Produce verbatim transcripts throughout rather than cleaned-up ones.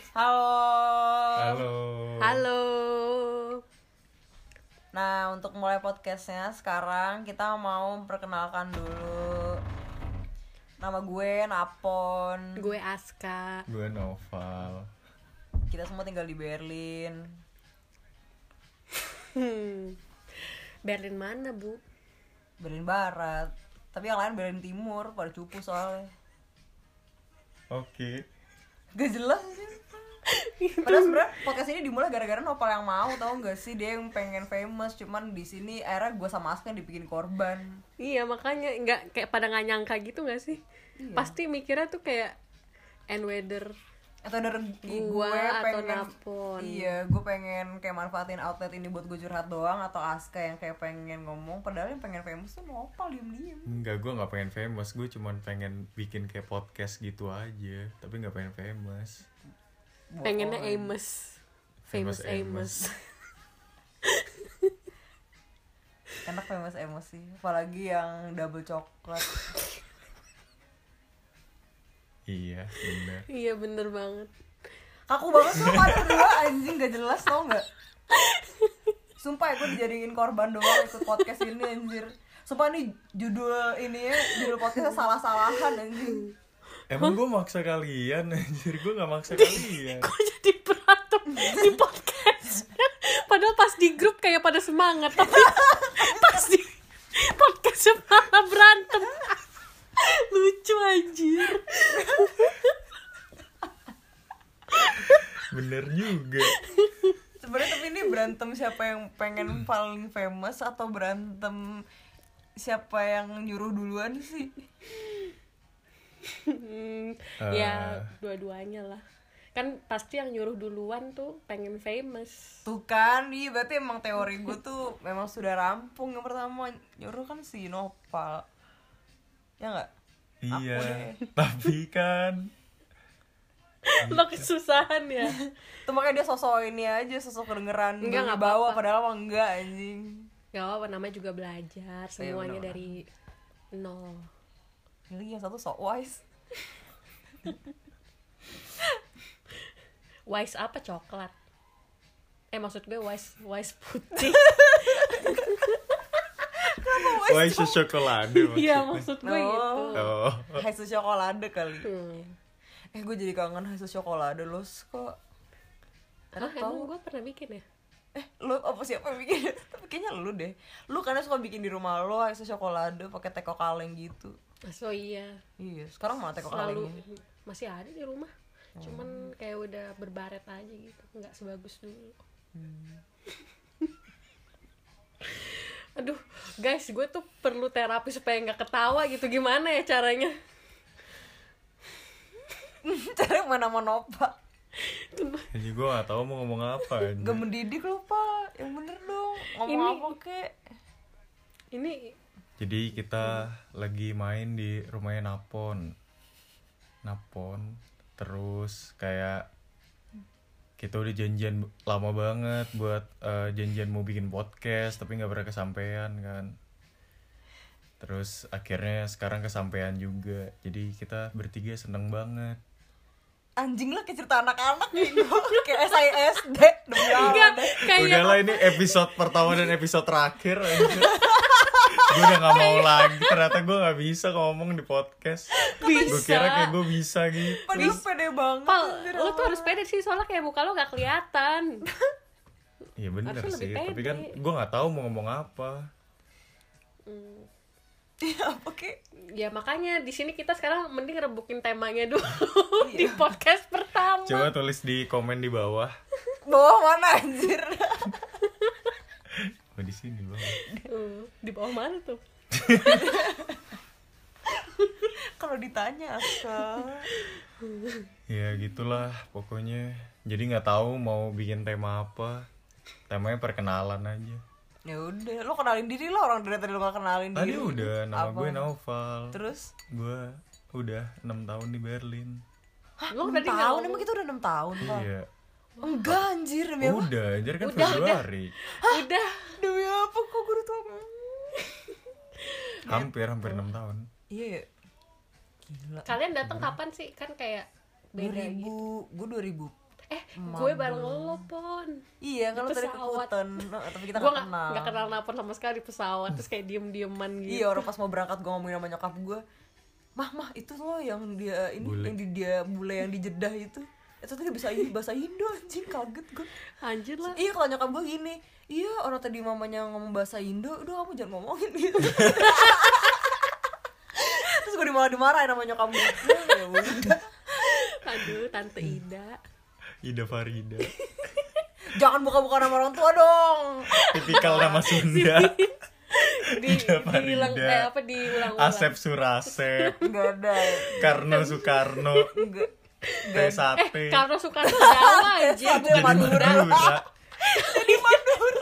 Halo. Halo. Halo. Nah, untuk mulai podcastnya sekarang kita mau memperkenalkan dulu. Nama gue Napon. Gue Aska. Gue Noval. Kita semua tinggal di Berlin. Hmm. Berlin mana, Bu? Berlin Barat. Tapi yang lain Berlin Timur, pada cupu soalnya. Oke. Gak jelas sih. Padahal sebenernya podcast ini dimulai gara-gara Nopal yang mau, tau gak sih, dia yang pengen famous, cuman di sini akhirnya gue sama Aska yang dibikin korban. Iya, makanya nggak kayak pada nggak nyangka gitu nggak sih? Iya. Pasti mikirnya tuh kayak and whether Atau dari gue Gua atau pengen, Napon. iya, gue pengen kayak manfaatin outlet ini buat gue curhat doang, atau Aska yang kayak pengen ngomong, padahal yang pengen famous tuh Nopal diem-diem. Enggak, gue nggak pengen famous. Gue cuman pengen bikin kayak podcast gitu aja. Tapi nggak pengen famous. pengennya Bohong. Amos, famous Amos. Enak famous emosi, apalagi yang double coklat. Iya, bener. Iya bener banget. Kaku banget tuh pada berdua, anjing, gak jelas tau gak? Sumpah gue dijadiin korban doang ikut podcast ini, anjir. Sumpah nih judul ini ya, judul podcastnya salah-salahan, anjing. Emang gue maksa kalian, anjir. Gue gak maksa kalian. Kok jadi berantem di podcast? Padahal pas di grup kayak pada semangat, tapi pas di podcast malah berantem. Lucu anjir. Bener juga. Sebenarnya tapi ini berantem siapa yang pengen paling famous atau berantem siapa yang nyuruh duluan sih? Hmm, Uh. ya dua-duanya lah. Kan pasti yang nyuruh duluan tuh pengen famous. Tuh kan, iya berarti emang teori gue tuh memang sudah rampung. Yang pertama nyuruh kan si Nopal. Ya gak? Iya. deh. Tapi kan Lo kesusahan ya. Tuh makanya dia sosok ini aja, sosok kedengeran Enggak, nggak bawa apa-apa. padahal mah enggak, anjing. Gak apa-apa, namanya juga belajar. Semuanya bener-bener. dari nol. Ini yang satu sok wise. Wise apa coklat? Eh maksud gue wise wise putih. wah itu coklat. Iya maksud gue Oh. gitu. Oh. Haisu Chocolade kali. Hmm. Eh gue jadi kangen Haisu Chocolade lo kok. Ah, Enak emang tau. gue pernah bikin ya? Eh lo apa siapa yang bikin? Tapi kayaknya lu deh. Lu karena suka bikin di rumah lo Haisu Chocolade pakai teko kaleng gitu. So iya. Iya, sekarang mana teko Selalu kalengnya? masih ada di rumah. Cuman kayak udah berbaret aja gitu, nggak sebagus dulu. Hmm. Aduh, guys, gue tuh perlu terapi supaya nggak ketawa gitu. Gimana ya caranya? Cari mana mau Nopa. Jadi gue gak tahu mau ngomong apa. anjir. Gak mendidik lo Pak. Yang bener dong. Ngomong Ini- apa kek? Ini Jadi kita lagi main di rumahnya Napon. Napon. Terus kayak kita udah janjian lama banget buat uh, janjian mau bikin podcast tapi nggak pernah kesampaian kan. Terus akhirnya sekarang kesampaian juga. Jadi kita bertiga seneng banget. Anjing lah kayak cerita anak-anak gitu. Kayak S I S D. Demi Allah enggak deh. kayak Udahlah ini episode pertama dan episode terakhir. Gue udah gak mau lagi. Ternyata gue gak bisa ngomong di podcast. Gue bisa. kira kayak gue bisa gitu. Padahal pede banget. Pal, anjir. lo tuh harus pede sih soalnya kayak muka lo gak kelihatan. Iya bener Harusnya sih. lebih Tapi kan pede. gue gak tahu mau ngomong apa. Hmm. Ya apa kek? Ya makanya di sini kita sekarang mending rebukin temanya dulu Iya. di podcast pertama. Coba tulis di komen di bawah. Bawah mana anjir? Oh di sini bawah. Uh, di bawah mana tuh? Kalau ditanya Aska. Ya gitulah pokoknya. Jadi nggak tahu mau bikin tema apa. Temanya perkenalan aja. Ya udah, lo kenalin diri lo, orang dari tadi lo gak kenalin Tadi diri. udah, nama Apa? gue Noval. Terus? Gue udah enam tahun di Berlin. Lo enam tadi tahun? ngomong- Emang kita udah enam tahun, Pak? Iya. Enggak anjir, demi apa? Udah, anjir kan Udah, Februari. Udah. Demi apa kok gue udah tau? Hampir, hampir enam tahun. Iya ya. Gila. Kalian datang kapan sih? Kan kayak dua beda gitu. ribu, gue dua ribu Eh, gue bareng lo, Pon. Iya, kalau tadi ke pesawat. Kuta, no, tapi kita Gue nggak gak, kenal. gak kenal Napon sama sekali di pesawat. Terus kayak diem-dieman gitu. Iya, orang pas mau berangkat gue ngomongin sama nyokap gue, mah mah itu loh yang dia ini Bule. yang di dia bule yang di Jeddah itu. Itu tadi bisa bahasa Indo, anjing, kaget gue. Anjir lah. Iya, kalau nyokap gue gini, iya orang tadi mamanya ngomong bahasa Indo, udah kamu jangan ngomongin gitu. Terus gue malah dimarahin sama nyokap gue. Ya udah. Aduh, Tante Ida. Ida Farida. Jangan buka-buka nama orang tua dong. Tipikal nama Sunda. Di, Ida diulang, Farida. eh, apa diulang-ulang. Asep Surasep. Enggak ada. Karno Soekarno. Enggak. Teh Sate. Eh, karena Soekarno Jawa aja. Sate Jadi Madura. Madura. Jadi Madura.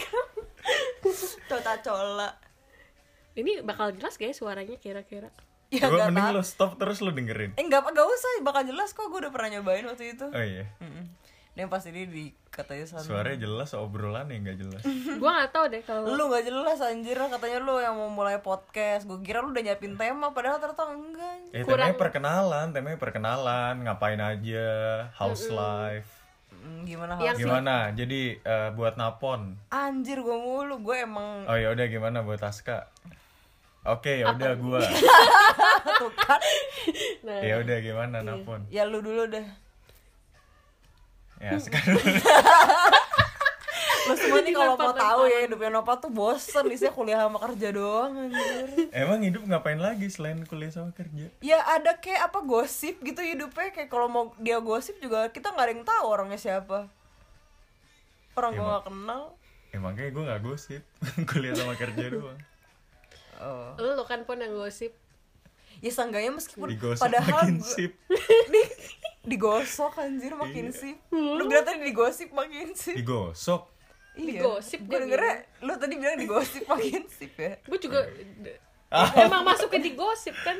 Tota cola. Ini bakal jelas gak ya suaranya kira-kira? Ya Gue enggak mending tahu. lo stop terus lo dengerin. Eh enggak enggak usah, bakal jelas kok, gue udah pernah nyobain waktu itu. Oh iya. Heeh. Dan pas ini dikatain sama Suaranya jelas, obrolan ya nggak jelas. Gue gak tahu deh kalau lu nggak jelas anjir, katanya lu yang mau mulai podcast. Gue kira lu udah nyiapin tema, padahal ternyata enggak. Eh, Kurang- temanya perkenalan, temanya perkenalan, ngapain aja, house life. Hmm, gimana Yang- hal? Gimana? Jadi eh, buat Napon. Anjir gue mulu, gue emang Oh ya udah gimana buat Aska? Oke, ya udah gua. tuh kan. nah, Ya udah gimana Napon? Ya lu dulu deh. Ya sekarang Lu semua nih kalau mau Dilempar-lemparan. tahu ya hidupnya Nova tuh bosen, isinya kuliah sama kerja doang anjir. emang hidup ngapain lagi selain kuliah sama kerja? Ya ada kayak apa gosip gitu hidupnya, kayak kalau mau dia gosip juga kita nggak ada yang tahu orangnya siapa. Orang gue Emang- nggak kenal. Emang kayak gue nggak gosip, kuliah sama kerja doang. Oh. lu kan Pon yang gosip. Ya seenggaknya meskipun Digosok padahal makin gua- sip. di, digosok anjir makin Iya. sip. Lu bilang tadi digosip makin sip. Digosok. Iya. Digosip Gue dia dengernya lu tadi bilang digosip makin sip ya. Gue juga Ah. emang masuknya di gosip kan.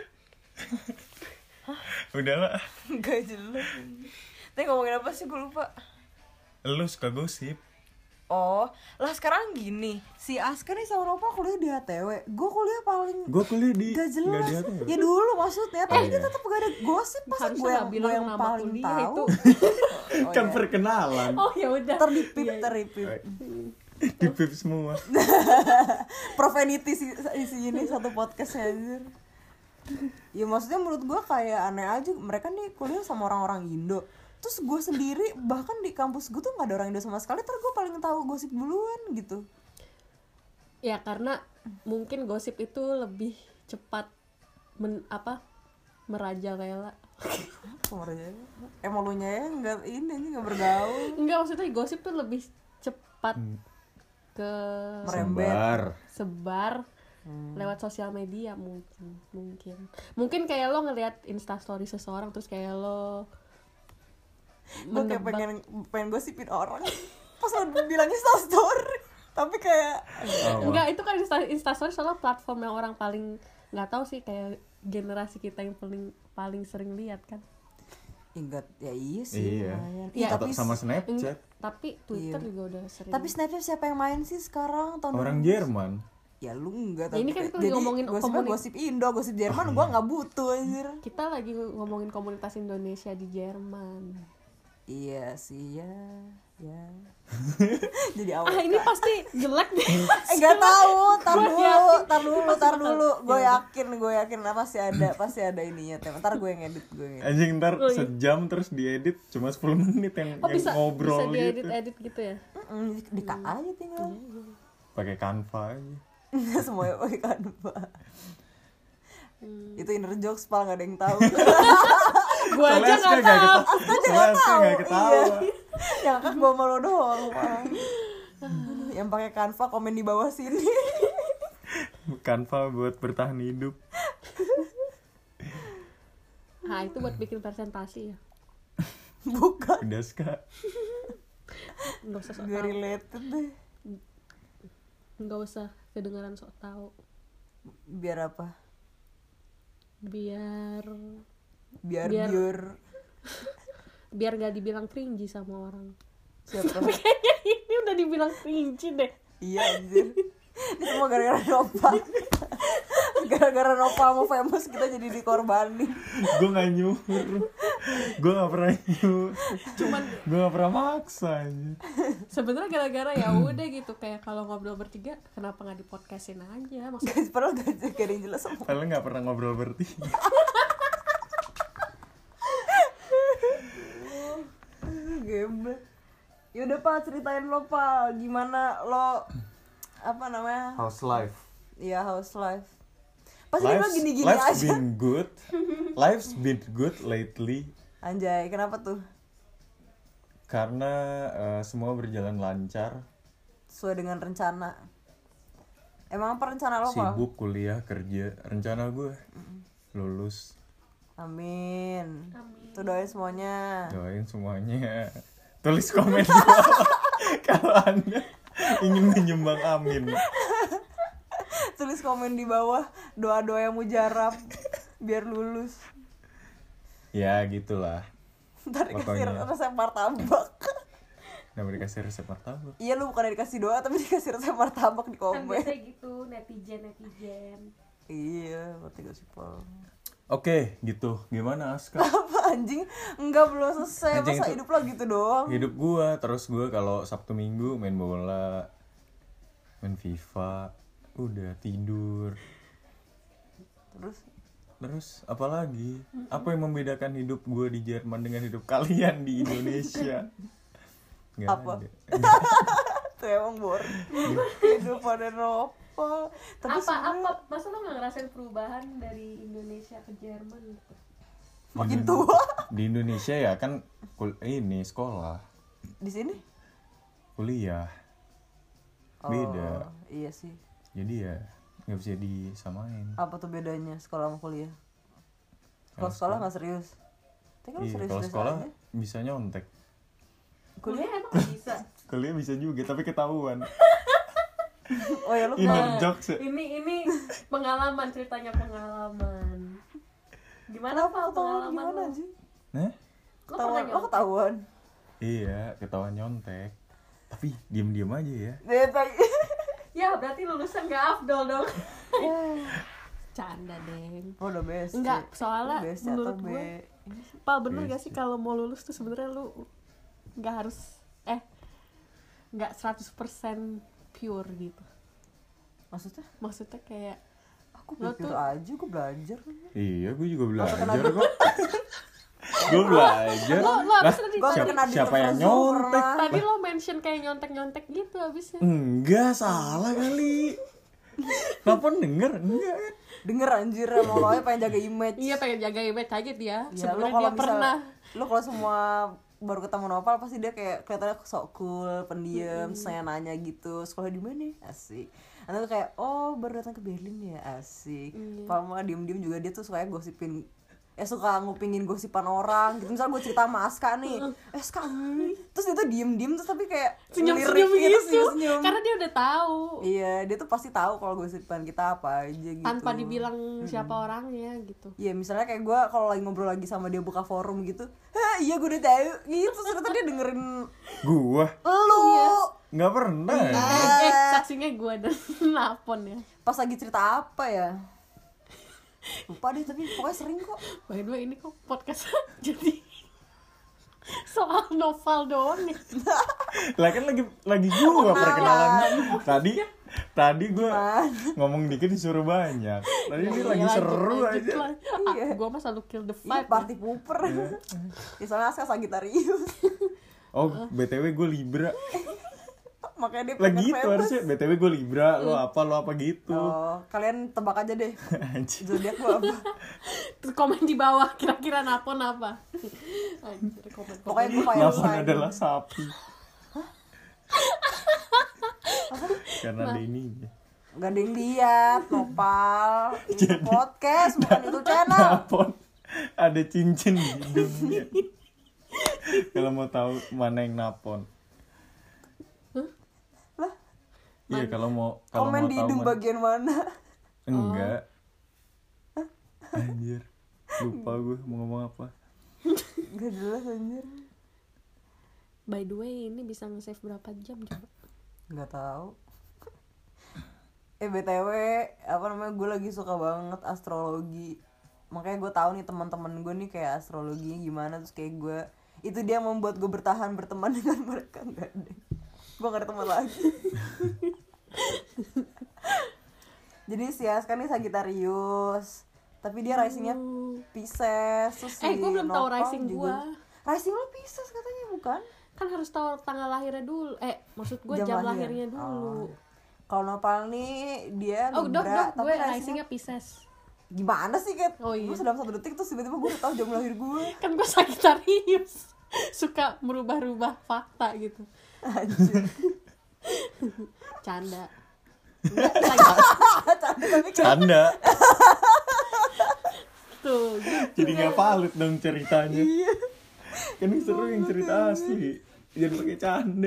Udah lah. Enggak jelas. Tapi ngomongin apa sih gue lupa. Lu suka gosip. Oh, lah sekarang gini, si Aska nih sama Ropa kuliah di H T W. Gue kuliah paling Gue kuliah di gak jelas. nggak di Ya dulu maksudnya, tapi iya. dia tetap gak ada gosip. Masa Harusnya gue nggak yang, bilang gue yang nama paling kuliah tahu. itu. Oh, kan iya. perkenalan. Oh ya udah. Teripip, Iya, iya. teripip. Di pip semua. Profanity sih isi ini satu podcastnya anjir. Ya maksudnya menurut gue kayak aneh aja, mereka nih kuliah sama orang-orang Indo. Terus gue sendiri bahkan di kampus gue tuh gak ada orang Indo sama sekali, terus gue paling tahu gosip duluan gitu. Ya karena mungkin gosip itu lebih cepat men, apa merajalela. Kemarin emang lu nya ya nggak ini nih nggak bergaul. Enggak, maksudnya gosip tuh lebih cepat ke Merembet. Sebar. sebar lewat sosial media mungkin mungkin mungkin kayak lo ngelihat instastory seseorang terus kayak lo Gue kayak menebak. pengen pengen gosipin orang pas lo bilangnya story, tapi kayak Oh, Enggak, itu kan Insta, Instastory soalnya platform yang orang paling nggak tahu sih, kayak generasi kita yang paling paling sering lihat kan. ingat ya iya sih Iya. lumayan. Iya, Ih, tapi sama Snapchat. Tapi Twitter Iya. juga udah sering. tapi Snapchat siapa yang main sih sekarang tahun Orang dua ribu? Jerman. Ya lu enggak, Ya, tapi ini kan kita jadi lagi ngomongin gosipnya komuni- gosip Indo, gosip Jerman gua nggak butuh anjir. Kita lagi ngomongin komunitas Indonesia di Jerman. Iya sih ya, ya. Jadi awal. Ah, ini pasti jelek deh. Eh nggak tahu, tar Gua dulu, yakin tar dulu, pasti tar bakal- dulu. Gue Ya udah. yakin, gue yakin pasti ada, pasti ada ininya tema. Ntar gue yang edit, gue yang edit. Anjing ntar Oh, iya. sejam terus diedit cuma sepuluh menit yang, Oh yang bisa ngobrol bisa diedit gitu. edit gitu ya. Mm, di, di K A aja tinggal. Pakai Canva aja. Semuanya pakai Canva. Itu inner jokes pal, nggak ada yang tahu. Gua aja Soalnya Aska nggak nggak tahu. ketawa. Soalnya Aska nggak ketawa. Yang kan gue malu doang, Pal. Yang pakai Canva komen di bawah sini. Canva buat bertahan hidup. Nah, itu buat bikin presentasi ya. Bukan, Udah Ska. Enggak usah sok gue tahu. related deh. Enggak usah kedengaran sok tahu. Biar apa? Biar Biar Biar- biar biar gak dibilang cringy sama orang. siapa? Kayaknya ini udah dibilang cringy deh. Iya anjir. Ini semua gara-gara Nova. Gara-gara Nopal mau famous kita jadi dikorbanin. Gue nggak nyuruh, gue nggak pernah nyuruh, Cuman gue nggak pernah maksa aja. sebenarnya gara-gara ya udah gitu, kayak kalau ngobrol bertiga kenapa nggak di podcastin aja maksudnya. Guys, padahal gak, gak ada yang jelas sama. Kalian nggak pernah ngobrol bertiga. Gembel. Yaudah Pak, ceritain lo Pak, gimana lo apa namanya? House life. Iya, house life. Pasti lo gini-gini life's aja. been good. Life's been good lately. Anjay, kenapa tuh? Karena uh, semua berjalan lancar. Sesuai dengan rencana. Emang apa rencana lo Pak? Sibuk kuliah, kerja. Rencana gue lulus. Amin. Amin. Tuh doain semuanya. Doain semuanya. Tulis komen di bawah kalau Anda ingin menyumbang amin. Tulis komen di bawah doa-doa yang mujarab biar lulus. Ya gitulah. Ntar dikasih Pokoknya. resep martabak. Nggak dikasih resep martabak. Iya, lu bukan dikasih doa tapi dikasih resep martabak di Kan komen. biasanya gitu, netizen netizen. Iya, berarti gak sih Paul. Oke, gitu. Gimana Aska? Apa anjing? Enggak, belum selesai. Anjing Masa itu- hidup lo gitu doang? Hidup gua, terus gua kalau Sabtu Minggu main bola, main FIFA, udah tidur. Terus Terus apa lagi? Apa yang membedakan hidup gua di Jerman dengan hidup kalian di Indonesia? Nggak Apa? ada. tuh emang boring. Hidup pada Nopal. Tapi Apa sebenarnya apa masa lo nggak ngerasain perubahan dari Indonesia ke Jerman gitu? makin Di- tua. Di Indonesia ya kan kul- ini sekolah, Di sini? kuliah. Oh, Beda. iya sih. Jadi ya nggak bisa disamain. Apa tuh bedanya sekolah sama kuliah? Kalau Kalau sekolah nggak serius. Tapi kan Iya, serius kalau serius sekolah aja. bisa nyontek. Kuliah emang nggak bisa. Kuliah bisa juga tapi ketahuan. Oh ya lu Inner pernah- jokes ya. Ini ini pengalaman, ceritanya pengalaman. Gimana Kenapa Pak ketahuan pengalaman gimana lo? sih? Nah, Lo Ketahuan, pernah lo nyontek? ketahuan. iya ketahuan nyontek. Tapi diem-diem aja ya. Dia tadi. Ya berarti lulusan gak afdol dong. Canda deng. Oh, udah best. Enggak, soalnya Best menurut atau B? gue, Pal bener Yes, gak sih kalau mau lulus tuh sebenarnya lu nggak harus eh nggak seratus persen pure gitu. Maksudnya? Maksudnya kayak Aku Lo pikir tuh- aja, gue belajar. Iya, gue juga belajar kena kok. Gue belajar. Lo- lo Lah, abis tadi- Gue siapa, kena di siapa yang Zumba nyontek? pernah. tadi lo mention kayak nyontek-nyontek gitu abisnya. Enggak, salah kali. Kenapa denger? Enggak kan? Denger anjir, emang lo aja pengen jaga image. Iya pengen jaga image aja dia. Ya, lo Sebenarnya kalau dia misal- pernah. lo kalau semua baru ketemu Nopal pasti dia kayak kelihatannya sok cool, pendiam, mm. saya nanya gitu, sekolah di mana? Asik. Nanti kayak oh baru datang ke Berlin ya, asik. Iya. Kalau mah diem-diem juga dia tuh suka gosipin, eh suka ngupingin gosipan orang gitu. Misal gue cerita sama Aska nih, eh Aska, hmm. terus dia tuh diem-diem terus tapi kayak Senyum-senyum ngelirik gitu. senyum-senyum. Karena dia udah tahu. Iya, dia tuh pasti tahu kalau gosipan kita apa aja gitu. Tanpa dibilang siapa orangnya gitu. Iya, misalnya kayak gue kalau lagi ngobrol lagi sama dia buka forum gitu, hah iya gue udah tahu gitu, ternyata dia dengerin Gua lu nggak pernah. Eh, eh, saksinya gue dan Napon ya. pas lagi cerita apa ya, lupa deh tapi pokoknya sering kok. By the way ini kok podcast jadi soal novel doang nih. Lah kan lagi lagi gua perkenalan. Tadi tadi gua Gimana? ngomong dikit disuruh banyak. Tadi ini Iya, lagi lanjut, seru lanjut aja. lah. Ah, gue mah selalu kill the Iya, vibe. party pooper. Ya, soalnya Aska Sagittarius. Oh, B T W gue Libra. Makanya dia Lah pengen gitu famous. harusnya. B T W gue Libra, lo apa lo apa gitu. Oh, kalian tebak aja deh Anjir. zodiak gua apa. Terus komen di bawah kira-kira Napon apa. Anjir, komen, komen. Pokoknya gue fire Napon sign. adalah sapi. Karena ada ininya. Gak ada yang lihat, Nopal. Ini podcast bukan itu channel. Napon ada cincin di hidungnya. Kalau mau tahu mana yang napon. Lah, Iya kalau mau kalau komen mau di tahu hidung mana- bagian mana? Enggak. Anjir. Lupa gue mau ngomong apa. Gak jelas anjir. By the way ini bisa nge-save berapa jam coba? Gak tahu. Eh B T W apa namanya, gue lagi suka banget astrologi. Makanya gue tahu nih teman-teman gue nih kayak astrologinya gimana, terus kayak gue itu dia yang membuat gue bertahan berteman dengan mereka. Enggak deh, gue gak ada teman lagi. Jadi si Aska nih Sagittarius, tapi dia risingnya Pisces. Terus Eh, si gue belum tahu Nopal rising juga- gue. Rising lo Pisces katanya, bukan? Kan harus tahu tanggal lahirnya dulu. Eh, maksud gue Jam jam, lahir. lahirnya dulu. Oh. Kalau Nopal nih dia Oh, dok, Libra, dok, tapi gue risingnya risingnya Pisces. gimana sih, Kat? Oh, iya. Gue dalam satu detik terus tiba-tiba gue udah tahu jam lahir gue. Kan gue Sagittarius. Suka merubah-rubah fakta gitu. Anjir. Canda. Enggak, lagi. Canda. Tuh, gitu. Jadi nggak valid dong ceritanya. Iya. Kan ini seru yang cerita asli. Jangan pakai canda.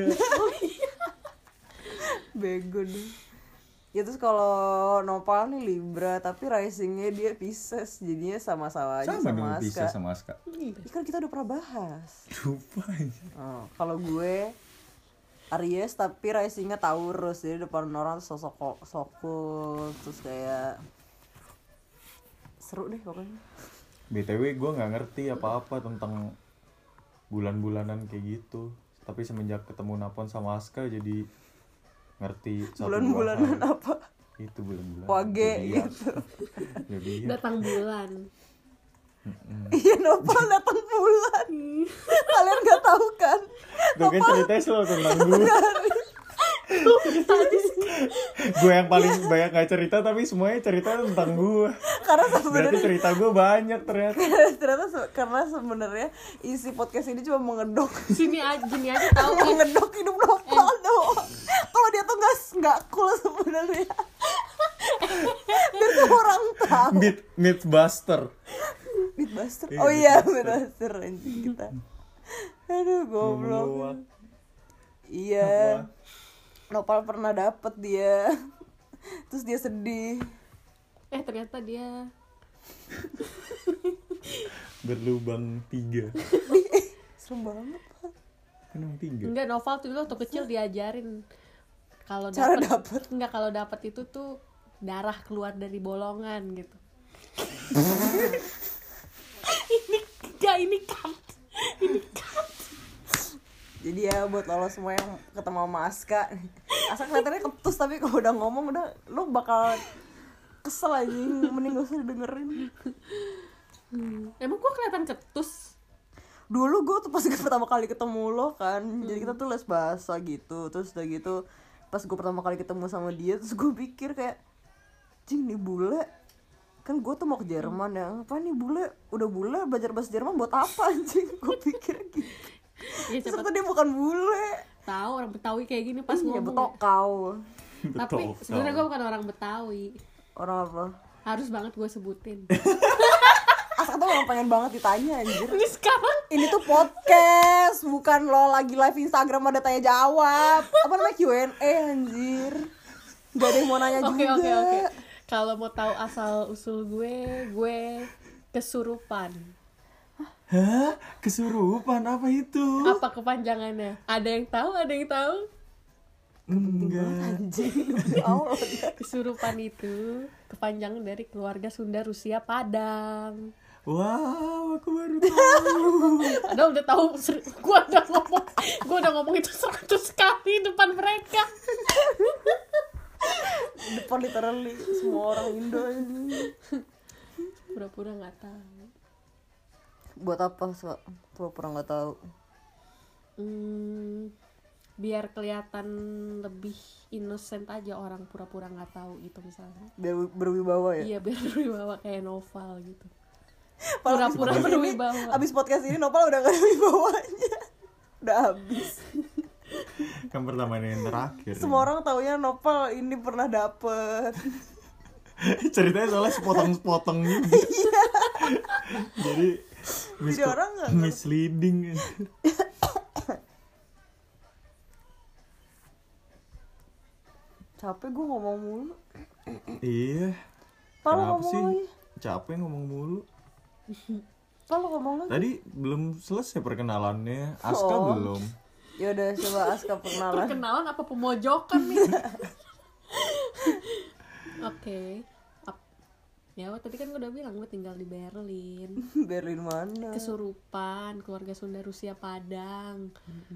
Bego deh. Ya terus kalau Nopal nih Libra, tapi risingnya dia Pisces, jadinya sama-sama aja Sama sama, dong Aska. bisa sama Aska. Ih, kan kita udah pernah bahas. Lupa aja. Oh, kalau gue Aries tapi risingnya Taurus, jadi depan orang tuh sosok ko- sokul, terus kayak seru deh pokoknya. B T W gue nggak ngerti apa-apa tentang bulan-bulanan kayak gitu. Tapi semenjak ketemu Napon sama Aska jadi ngerti satu dua Bulan-bulanan hal. apa? Itu bulan-bulan. Wage Zodiak. gitu. Zodiak. Datang bulan. Iya, Nopal datang bulan. Kalian nggak tahu kan? Tuh kan ceritanya selalu tentang gue. Gue yang paling banyak gak cerita tapi semuanya cerita tentang gue. Karena Berarti sebenarnya cerita gue banyak ternyata. ternyata se- karena sebenarnya isi podcast ini cuma mengedok Sini aja, gini aja tahu kan. mengedok hidup Nopal doang. Kalau dia tuh nggak nggak cool sebenarnya. Biar semua orang tahu. Myth Mythbuster. Mythbuster. Iya, Oh iya, Mythbuster. Mythbuster anjing kita. Aduh, goblok. Meluak. Iya. Nopal pernah dapet dia. Terus dia sedih. Eh, ternyata dia Berlubang tiga. Serem banget, Pak. Kan emang tiga. enggak, Noval tuh dulu waktu kecil diajarin kalau Cara dapet, dapet. enggak kalau dapat itu tuh darah keluar dari bolongan gitu. ini enggak, ini cut. Ini cut. Jadi ya buat lo semua yang ketemu sama Aska, Aska kelihatannya ketus tapi kalau udah ngomong udah lo bakal kesel aja, mending gak usah didengerin. Hmm. Emang gua kelihatan ketus? Dulu gue tuh pas pertama kali ketemu lo kan, jadi kita tuh les bahasa gitu, terus udah gitu pas gue pertama kali ketemu sama dia, terus gue pikir kayak, cing nih bule, kan gue tuh mau ke Jerman ya, apa nih bule, udah bule belajar bahasa Jerman buat apa anjing, gue pikir gitu. Ya, siapa Ternyata dia bukan bule. tahu orang Betawi kayak gini pas Iya, ngomong. betokau. Tapi Betul. sebenarnya gua bukan orang Betawi. Orang apa? Harus banget gue sebutin. Aska tuh emang pengen banget ditanya anjir. Ini sekarang Ini tuh podcast, bukan lo lagi live Instagram ada tanya jawab. Apa namanya Q and A anjir. Gak ada yang mau nanya Oke juga. oke oke. Kalau mau tahu asal usul gue, gue kesurupan. Hah? Kesurupan apa itu? Apa kepanjangannya? Ada yang tahu? Ada yang tahu? Enggak. Anjing, demi Allah. Kesurupan itu kepanjangan dari keluarga Sunda Rusia Padang. Wow, aku baru tahu. Padahal udah tahu, ser- gue udah ngomong, gue udah ngomong itu seratus kali depan mereka. Depan literally semua orang Indo ini. Pura-pura nggak tahu. Buat apa so? Pura-pura nggak tahu. Hmm, biar kelihatan lebih innocent aja orang pura-pura nggak tahu gitu misalnya. Biar berwibawa ya. Iya, biar berwibawa kayak novel gitu. Padahal Pura-pura abis podcast ini- berwibawa. Abis podcast ini Nopal udah gak ada wibawanya. Udah habis. Kan pertama ini yang terakhir. Semua orang taunya Nopal ini pernah dapet. Ceritanya soalnya sepotong-sepotong gitu. Jadi mis- Jadi orang nggak ngerti. misleading. Capek gue ngomong mulu. Iya. Pal Kenapa ngomong sih? lagi. Capek ngomong mulu. Pal ngomong lagi. Tadi belum selesai perkenalannya. Aska Oh. belum. Ya udah coba Aska perkenalan. Perkenalan apa pemojokan nih? Oke. Ap- Ya, tadi kan gue udah bilang gue tinggal di Berlin. Berlin mana? Kesurupan, keluarga Sunda Rusia Padang.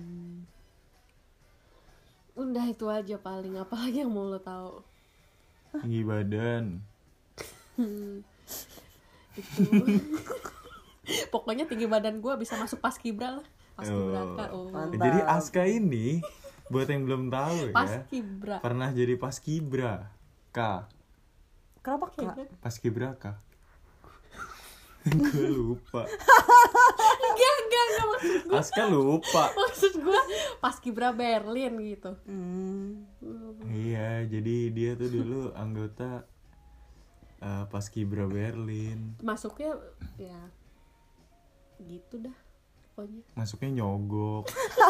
Udah itu aja paling, apalagi yang mau lo tahu. Tinggi badan. Itu. Pokoknya tinggi badan gue bisa masuk paskibra lah. Paskibraka. Oh. Mantap. Jadi Aska ini buat yang belum tahu ya, Paskibra. pernah jadi paskibra. K. Kenapa kak? Paskibraka. Gue lupa. Enggak, enggak, enggak maksud gue. Aska lupa. Maksud gue paskibra Berlin gitu. Hmm. Iya, jadi dia tuh dulu anggota uh, Paskibra Berlin. Masuknya ya gitu dah pokoknya. Masuknya nyogok.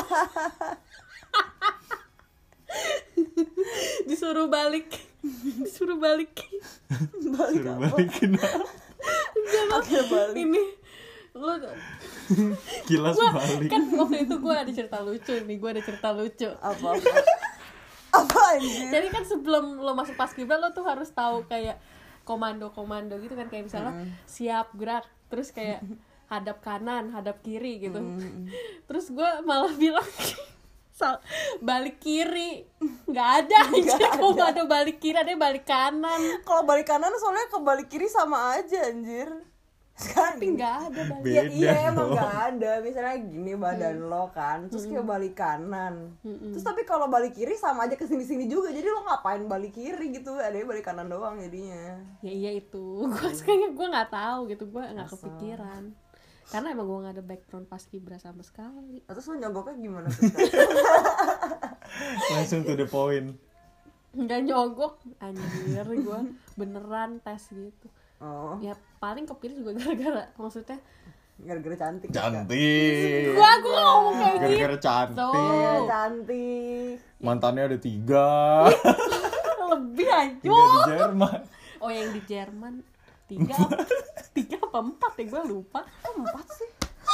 Disuruh balik. Disuruh balik. Balik Suruh apa? balikin Oke balik. Ini lo kilas gua, balik. kan waktu itu gue ada cerita lucu nih, gue ada cerita lucu. Apa apa? Apa anjir? Jadi kan sebelum lo masuk paskibra lo tuh harus tahu kayak komando-komando gitu kan, kayak misalnya Mm. siap gerak, terus kayak hadap kanan, hadap kiri gitu. Terus gue malah bilang sal- balik kiri, nggak ada aja komando balik kiri, ada balik kanan. Kalau balik kanan soalnya ke balik kiri sama aja anjir. Sekarang Tapi nggak ada balik. Beda Ya iya emang dong. gak ada. Misalnya gini badan lo kan, terus kayak balik kanan. Terus tapi kalau balik kiri sama aja kesini-sini juga. Jadi lo ngapain balik kiri gitu? Adanya balik kanan doang jadinya. Ya iya itu, gue kayaknya gue nggak tahu gitu, gue nggak kepikiran. Karena emang gue nggak ada background paskibra sama sekali. Terus lo nyogoknya gimana tuh? Langsung to the point. Nggak nyogok, anjir gue beneran tes gitu. Oh, Ya paling kepilih juga gara-gara, maksudnya gara-gara cantik. Cantik. gua gua ngomong kayak gitu. Gara-gara cantik. Iya, cantik. Mantannya ada tiga. Lebih Tiga di aja. Jerman. Oh yang di Jerman tiga apa, tiga apa empat ya gue lupa. Kok empat sih?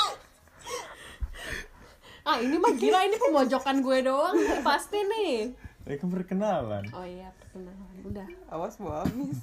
Ah ini mah gila, ini pemojokan gue doang pasti nih. Ya kan perkenalan. Oh iya perkenalan udah. Awas mau habis.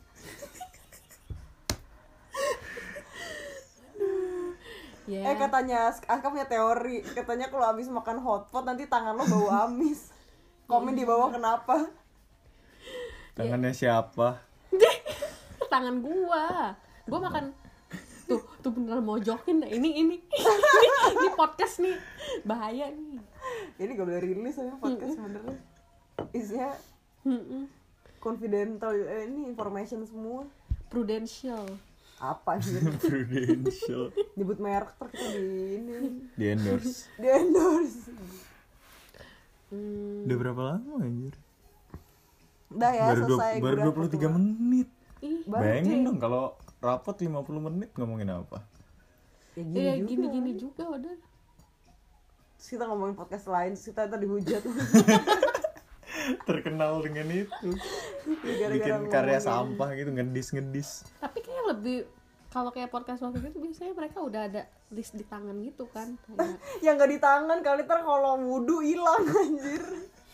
Ya. Eh katanya Aska punya teori, katanya kalau habis makan hotpot nanti tangan lo bau amis. Komen di bawah kenapa? Tangannya siapa? Tangan gua, gua makan tuh tuh beneran mojokin dah. ini ini ini, ini podcast nih bahaya nih. Ini gak boleh rilis sama podcast sebenarnya. Isinya Mm-mm. confidential, eh, ini information semua. Prudential. Apa sih? Prudential. Nyebut merek ter kita di ini, Di endorse. di endorse. Hmm, Udah berapa lama anjir? Udah ya baru dua- selesai. baru gue dua puluh tiga menit. ih, Baru, Bayangin Ci. dong kalau rapot lima puluh menit ngomongin apa? Ya gini iya juga. gini-gini juga udah. Terus kita ngomongin podcast lain, terus kita ntar dihujat. Terkenal dengan itu. Gara-gara Bikin karya ngomongin. sampah gitu, ngedis-ngedis. Tapi kayak lebih, kalau kayak podcast waktu itu biasanya mereka udah ada list di tangan gitu kan. Kayak, Yang gak di tangan kali ntar kalau wudhu hilang anjir.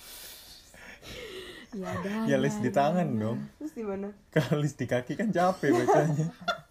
ya ada. Ya list di tangan dong. Terus di mana? Kalau list di kaki kan capek bacanya.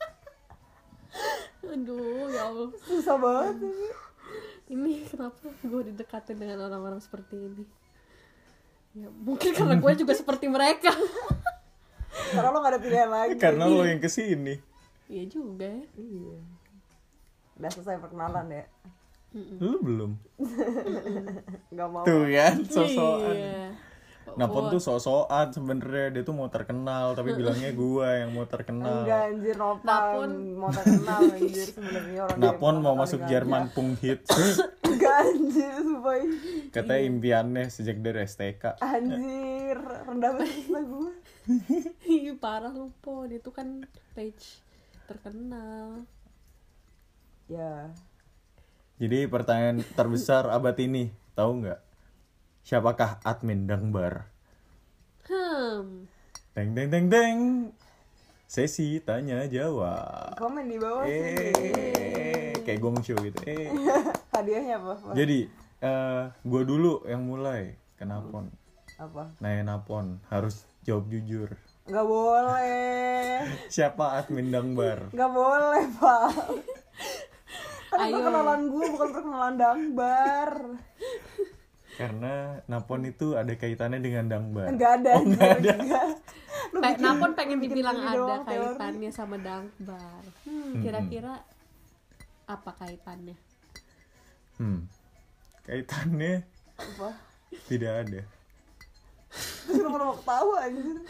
Aduh ya Allah. Susah banget ini. Ini kenapa gue didekatin dengan orang-orang seperti ini? Ya mungkin karena gue juga seperti mereka. Karena lo gak ada pilihan lagi. Karena lo yang kesini. Iya juga ya. Iya. Udah selesai perkenalan ya. Lu belum. Gak mau. Tuh kan, sosokan. Iya. Napon Oh, tuh sosokan sebenarnya, dia tuh mau terkenal tapi bilangnya gua yang mau terkenal. Enggak anjir, Nopal Napon. mau terkenal anjir sebenarnya orang Napon dia mau paling masuk aja. Jerman pung hits. Enggak anjir, sumpah. Katanya impiannya sejak dari S T K. Anjir, rendah banget cita gue. Ih, parah lu Pon, itu kan page terkenal. Ya, Jadi pertanyaan terbesar abad ini, tahu nggak? Siapakah admin Dangbar? Hmm. Teng teng teng teng. Sesi tanya jawab. komen di bawah sih. Eh, kayak gong show gitu. Eh. Hadiahnya apa? Apa? Jadi, eh gue dulu yang mulai ke Napon. Apa? Nanya Napon, harus jawab jujur. Nggak boleh. Siapa admin Dangbar? Nggak boleh, Pak. Kan Ayo. perkenalan gue bukan perkenalan Dangbar. Karena Napon itu ada kaitannya dengan Dangbar. Nggak ada. Oh, nggak ada. Lu Pe- bikin- Napon pengen lu bikin dibilang ini ada doang, teori. kaitannya sama Dangbar. Hmm, kira-kira apa kaitannya? Hmm. Kaitannya Apa? tidak ada. Terus lu pernah ketawa anjir.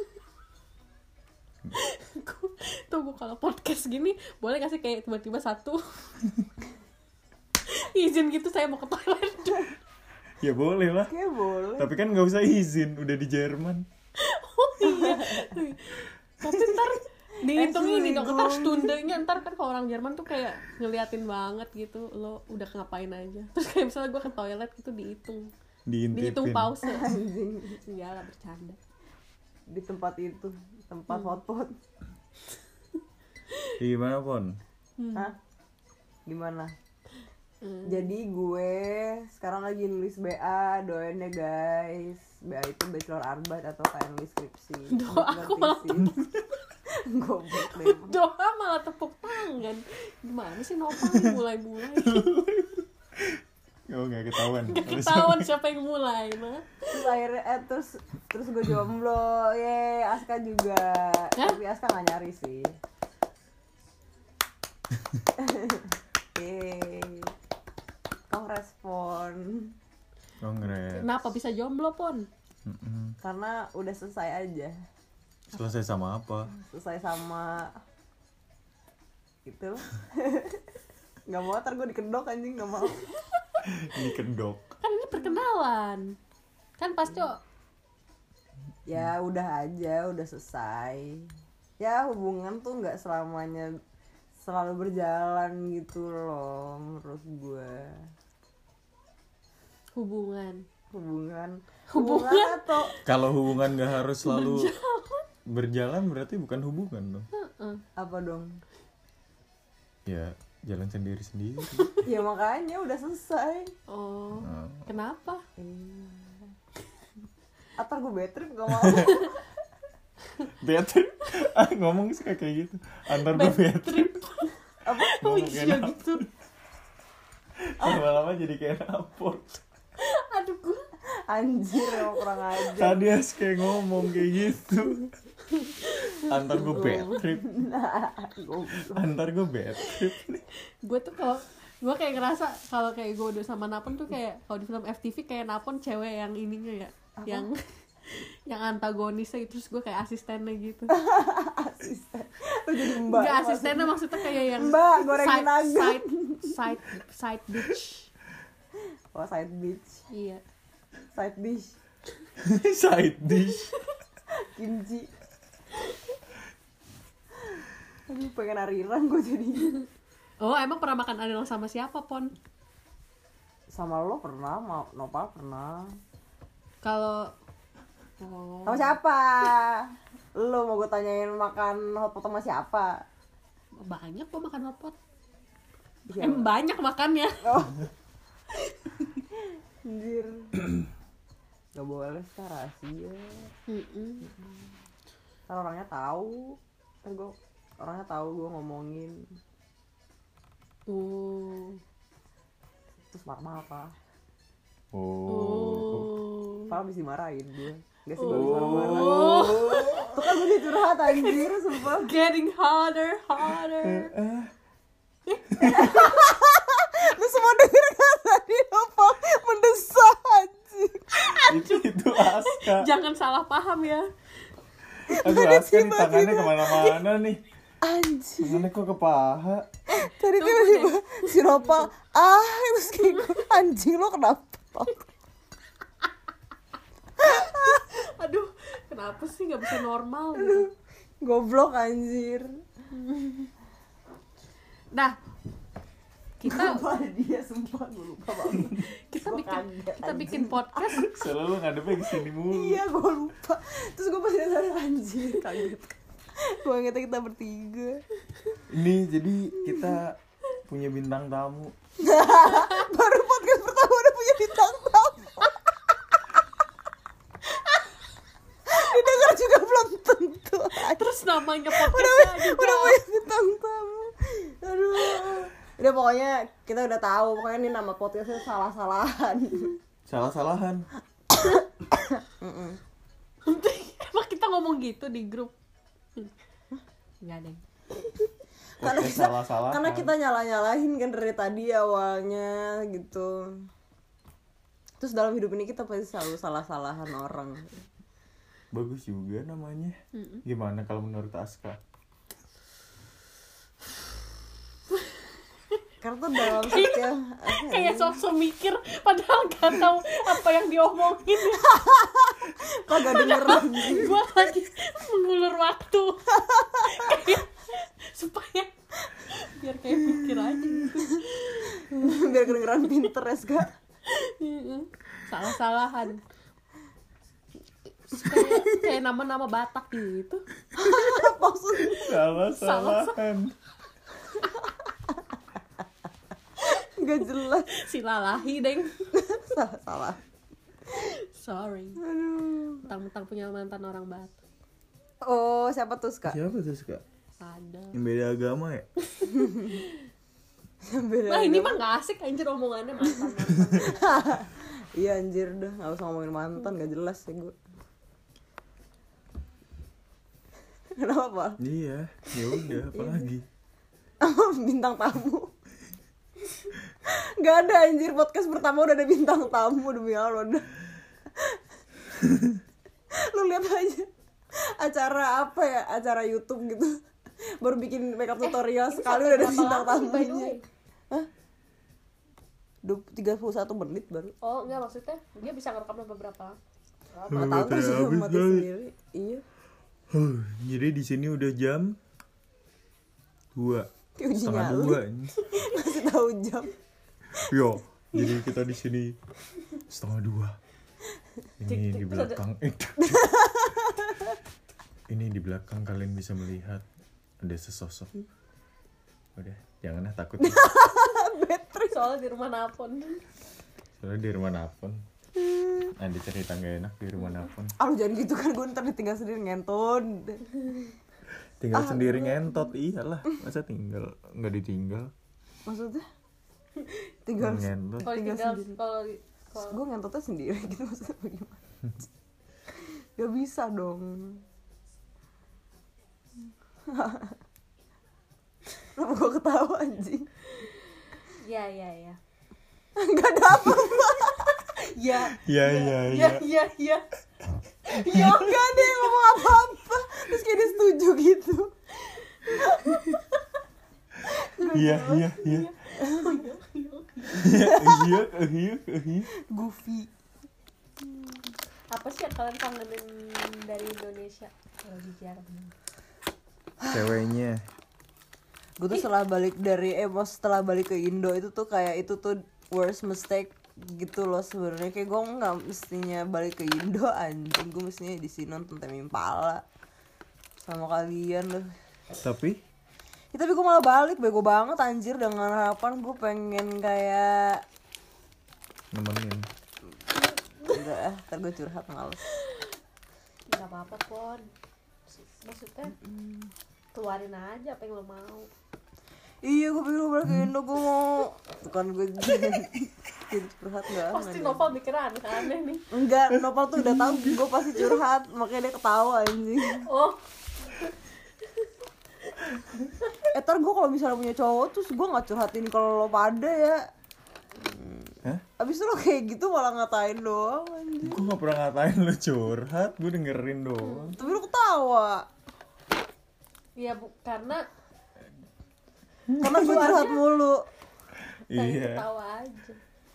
Tunggu kalau podcast gini boleh gak sih kayak tiba-tiba satu izin gitu saya mau ke toilet. Ya boleh lah. Kayak boleh. Tapi kan nggak usah izin, udah di Jerman. Oh iya. Tapi ntar dihitung ini dong, ntar Entschuldigung. stundenya ntar kan kalau orang Jerman tuh kayak ngeliatin banget gitu lo udah ngapain aja. Terus kayak misalnya gue ke toilet gitu dihitung, dihitung Diintipin. pause. Anjing. Ya lah bercanda. Di tempat itu, tempat hotpot. Di mana Pon? Hah? Gimana? Hmm. Jadi gue sekarang lagi nulis B A, doain ya guys. B A itu bachelor arbeit atau kayak nulis skripsi. Doa aku malah Goblok deh. Doa malah tepuk tangan. Gimana sih Nopal nih mulai-mulai? Oh nggak ketahuan. Gak ketahuan siapa yang mulai mah. Terus akhirnya eh, terus terus gue jomblo. Ye, Aska juga. Hah? Tapi Aska gak nyari sih. Yeay. Kau respon. Kongres. Kenapa bisa jomblo Pon? Mm-mm. Karena udah selesai aja. Selesai sama apa? Selesai sama gitu. Gak mau, ntar gue dikedok anjing, gak mau. Ini kedok. Kan ini perkenalan. Kan pasti Ya udah aja, udah selesai. Ya hubungan tuh gak selamanya selalu berjalan gitu loh menurut gue. hubungan. Hubungan Hubungan? atau Kalau hubungan nggak harus selalu berjalan berarti bukan hubungan dong. Heeh. apa dong? Ya jalan sendiri sendiri. Ya makanya udah selesai. Oh. Nah. Kenapa? Iya. Atar gue bad trip gak mau. Bad trip. Ah, ngomong suka kayak gitu. Antar gue bad trip. Apa? Oh Ngomong iya kayak gitu. Lama-lama jadi kayak napot. Aduh gue. Anjir emang kurang aja. Tadi as kayak ngomong kayak gitu. Antar gue bad trip. Goblok. Antar gue bad trip. Gue tuh kalau gue kayak ngerasa kalau kayak gue udah sama Napon tuh kayak kalau di film F T V kayak Napon cewek yang ininya ya, Apa? yang yang antagonisnya gitu, terus gue kayak asistennya gitu. Asisten. Lu jadi mbak. Gak asistennya maksudnya kayak yang Mbak, gorengin side, nugget. side side side bitch. Oh side bitch. Iya. Side dish. Side dish. Kimchi. Aduh pengen ariran gue jadi. Oh emang pernah makan ariran sama siapa Pon? Sama lo pernah, mau Nopal pernah. Kalau oh. Sama siapa? Lo mau gue tanyain makan hotpot sama siapa? Banyak kok makan hotpot. Siapa? Em banyak makannya. Oh. Anjir. Gak boleh sih rahasia. Mm-mm. Ntar orangnya tahu. Ntar gue orangnya tahu gue ngomongin. Oh. Terus marah-marah. Oh. Oh. Padahal abis dimarahin gue. Gak sih gue Oh. abis marah-marah. Tuh kan gue curhat anjir sumpah. Getting harder, harder. Lu semua denger gak tadi apa mendesah anjir. Itu itu Aska. Jangan salah paham ya. Aduh Aska nih tangannya kemana-mana nih. Anjir. Tangannya kok ke paha. Tadi tiba-tiba si Nopal ah terus kayak gue, anjing lo kenapa? Aduh, kenapa sih nggak bisa normal gitu? Goblok anjir. Nah, kita Lupa dia sumpah gue lupa banget. kita Gua bikin kaget, kita anjing. bikin podcast. Selalu ngadepnya kesini mulu. Iya gue lupa. Terus gue pasti sadar anjir kaget. Gue ingetnya kita bertiga. Ini jadi kita punya bintang tamu. Baru podcast pertama udah punya bintang tamu. Didengar juga belum tentu. namanya podcast aja. Udah punya bintang tamu. Aduh. Udah pokoknya kita udah tahu pokoknya ini nama podcastnya salah-salahan. Salah-salahan. Emang kita ngomong gitu di grup? Enggak deh. Karena Podcast kita, salah-salahan. karena kita nyala-nyalahin kan dari tadi awalnya gitu. Terus dalam hidup ini kita pasti selalu salah-salahan orang. Bagus juga namanya. Mm-mm. Gimana kalau menurut Aska? Karena tuh dalam setiap Kayak sok-sok mikir padahal gak tahu apa yang diomongin. kagak dengerin. Gue lagi mengulur waktu. Kayak supaya biar kayak mikir aja gitu. Biar kedengeran pinter ya Ska. Salah-salahan. Kayak, kayak nama-nama Batak gitu. Maksudnya Salah-salahan. nggak jelas. Silalahi deng. Salah-salah. Sorry. Aduh. Mentang-mentang punya mantan orang Batak. Oh siapa tuh Ska? Siapa tuh Ska? Ada. Yang beda agama ya? Beda Nah ini agama. mah gak asik anjir omongannya mantan-mantan. Iya anjir dah, nggak usah ngomongin mantan, nggak jelas ya gue. Kenapa? Iya, ya udah, apalagi. Bintang tamu. Nggak ada anjir, podcast pertama udah ada bintang tamu demi Allah udah. Lu lihat aja acara apa ya, acara YouTube gitu. Baru bikin makeup tutorial Ini sekali sampai udah ada berapa bintang lama, by the tamunya. way? Hah? tiga puluh satu menit baru. Oh enggak maksudnya dia bisa ngerekam beberapa. Nggak tahu terus Habis mati kali. sendiri. Iya. Huh, jadi di sini udah jam dua. Kayak uji Setengah nyali. dua. Masih tahu jam. Yo, jadi kita di sini setengah dua. Ini di belakang. Ini di belakang kalian bisa melihat ada sesosok. Udah, janganlah takut. Soalnya di rumah Napon. Soalnya di rumah Napon. Ada cerita gak enak di rumah Napon. Ah lu jangan gitu kan, gue ntar ditinggal sendiri ngenton. Tinggal sendiri ngentot, iyalah. Masa tinggal nggak ditinggal? Maksudnya? Tinggal Ngentot. Kalau Tinggal tinggal sendiri. kalau kalau gue ngentotnya sendiri gitu maksudnya bagaimana? Gak bisa dong. Kenapa gue ketawa anjing? ya ya ya. Gak ada apa-apa. Ya. Ya ya Ya ya. ya ya. Ya gak ada yang ngomong apa-apa. Terus kayak dia setuju gitu. Iya iya iya. Iya iya iya iya. Goofy. Apa sih yang kalian kangenin dari Indonesia? Kalau bicara. Ceweknya. Gue tuh setelah balik dari eh pas setelah balik ke Indo itu tuh kayak itu tuh worst mistake gitu loh sebenarnya. Kayak gue nggak mestinya balik ke Indo anjing, gue mestinya di sini nonton Tame Impala sama kalian loh. Tapi Ya, tapi gue malah balik bego banget anjir dengan harapan gue pengen kayak nemenin. enggak ah, ntar gue curhat males. Gak apa-apa Pon. Maksudnya keluarin aja apa yang lo mau. Iya gue pengen balik ke Indo, gue mau bukan gue jadi curhat enggak Pasti enggak. Nova mikir aneh-aneh nih. Enggak, Nopal tuh udah tahu gue pasti curhat makanya dia ketawa anjing. Oh Eh ntar gue kalau misalnya punya cowok terus gue nggak curhatin kalau lo pada ya. Hah? Abis itu lo kayak gitu malah ngatain doang anjing. Gue gak pernah ngatain lu curhat, gue dengerin doang. Tapi lo ketawa iya bu karena karena gue curhat mulu. pengen Iya. ketawa aja.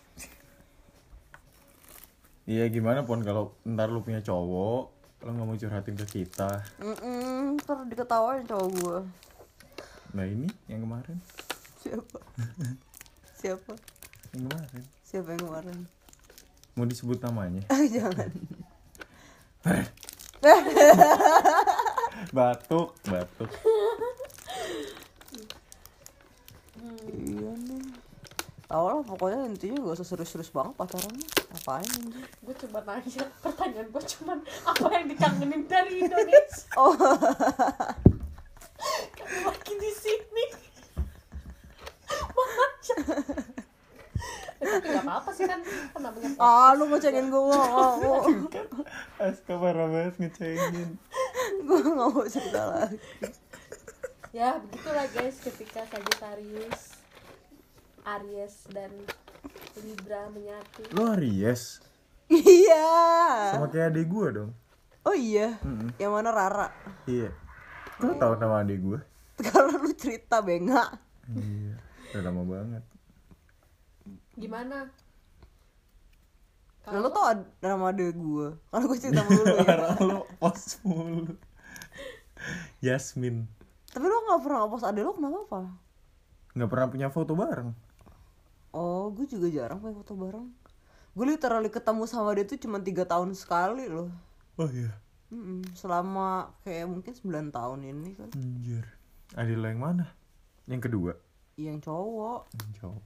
Iya gimana Pon kalau ntar lu punya cowok, lo gak mau curhatin ke kita. Mm ntar diketawain cowok gue. Nah ini yang kemarin. Siapa? Siapa? Yang kemarin. Siapa yang kemarin? Mau disebut namanya? Ah jangan. Batuk, batuk. Iya nih. Tau lah pokoknya intinya gak usah serius-serius banget pacarannya. Apain anjing? Gue cuma nanya, pertanyaan gue cuman apa yang dikangenin dari Indonesia. Oh Tapi nggak apa-apa sih kan, kan namanya podcast. Ah, lu mau cengin gue, mau. Aska parah banget ngecengin. Gue gak mau cerita lagi. Ya begitulah guys, ketika Sagittarius, Aries dan Libra menyatu. Lo Aries? Iya. Sama kayak adik gue dong. Oh iya. Mm-mm. Yang mana Rara? Iya. Lo tau nama adik gue? Karena lu cerita benga. Iya. Udah lama banget. Gimana? Nah, lu tau ad- nama adek gue? Karena gue cerita mulu ya. Parah lo post mulu. Yasmin. Tapi lu gak pernah ngepost adek lu kenapa apa? Gak pernah punya foto bareng. Oh, gue juga jarang punya foto bareng. Gue literally ketemu sama dia tuh cuma tiga tahun sekali loh. Oh iya. Mm-mm. Selama kayak mungkin sembilan tahun ini kan. Anjir. Adik lo yang mana? Yang kedua? Yang cowok. Yang cowok.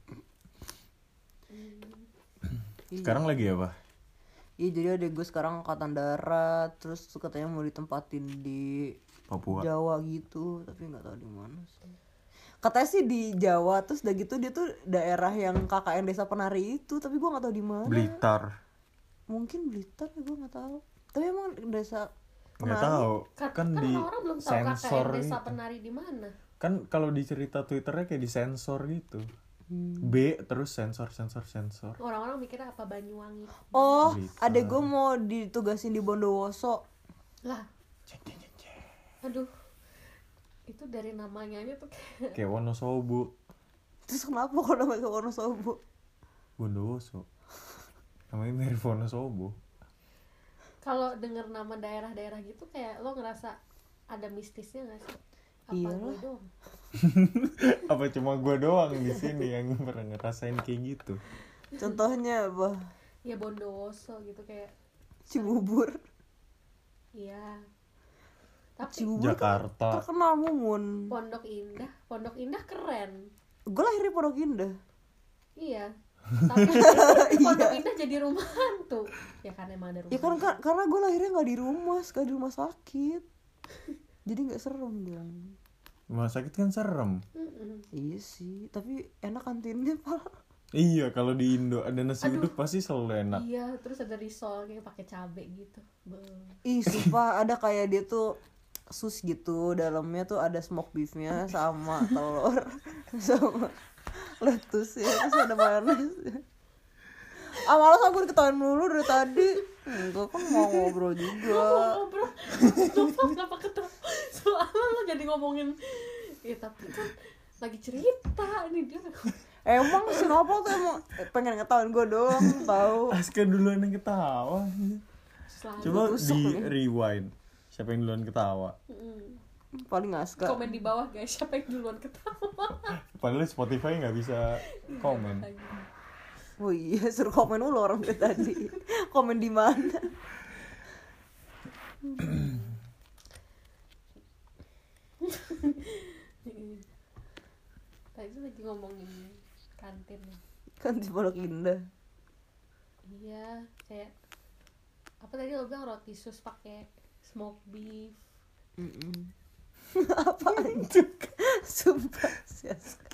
Iya. Sekarang lagi apa? Iya, jadi adek gue sekarang angkatan darat. Terus katanya mau ditempatin di Papua. Jawa gitu, tapi nggak tahu di mana sih. Katanya sih di Jawa, terus udah gitu dia tuh daerah yang K K N Desa Penari itu, tapi gue nggak tahu di mana. Blitar. Mungkin Blitar, ya gue nggak tahu. Tapi emang desa Nggak Penari. tahu. Kan, Kan di orang belum tahu K K N sensor Desa gitu. Penari di mana. Kan kalau di cerita Twitternya kayak di sensor gitu. Hmm. B terus sensor sensor sensor. Orang-orang mikirnya apa Banyuwangi. Oh, Blitar. adek gue mau ditugasin di Bondowoso. Lah, Cek cek cek, cek. aduh. Itu dari namanya aja tuh kayak Kayak Wonosobo. Terus kenapa kalau namanya ke Wonosobo? Bondowoso. Namanya mirip Wonosobo. kalau denger nama daerah-daerah gitu kayak lo ngerasa ada mistisnya nggak sih? Apa Iyalah. gue doang? Apa cuma gue doang di sini yang pernah ngerasain kayak gitu? Contohnya apa? Ya Bondowoso gitu kayak. Cibubur. Iya. Tapi Cibubur kan Jakarta. terkenal Mumun. Pondok Indah, Pondok Indah keren. Gue lahir di Pondok Indah. Iya. Tapi Pondok Indah jadi rumah hantu. Ya kan emang ada rumah. Ya kan, kan karena gue lahirnya nggak di rumah, sekali di rumah sakit. Jadi nggak serem dong. Rumah sakit kan serem. Mm-mm. Iya sih, tapi enak kantinnya pak. Iya, kalau di Indo ada nasi Aduh. uduk pasti selalu enak. Iya, terus ada risol kayak pakai cabe gitu. Be- Ih sumpah ada kayak dia tuh sus gitu, dalamnya tuh ada smoke beefnya sama telur sama lettuce ya, terus ada mayonnaise. Ah malas aku diketawain mulu dari tadi. Enggak kan mau ngobrol juga. ngobrol lupa kenapa ketawa soalnya lo jadi ngomongin ya tapi kan lagi cerita ini dia Emang si Nopal tuh emang pengen ngetawain gue doang tahu. Aska duluan yang ketawa. selalu Coba tusuk di nih. rewind. Siapa yang duluan ketawa? Mm. Paling Aska. komen di bawah guys siapa yang duluan ketawa. Padahal Spotify nggak bisa komen. Oh iya, suruh komen dulu orang dari tadi. Komen di mana? Tadi lagi ngomongin kantin. Kan di Pondok Indah. Iya, kayak apa tadi lo bilang roti sus pakai smoke beef. Mm-mm. Apaan tuh? Sumpah si Aska.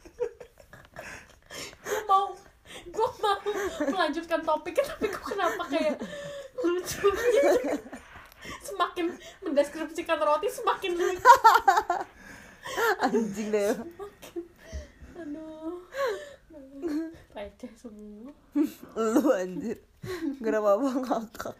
Gue mau gue mau melanjutkan topiknya tapi kok kenapa kayak lucu gitu. Semakin mendeskripsikan roti semakin lucu. Anjing deh. Aduh, receh semua. Lu anjir. Gak ada apa-apa ngakak.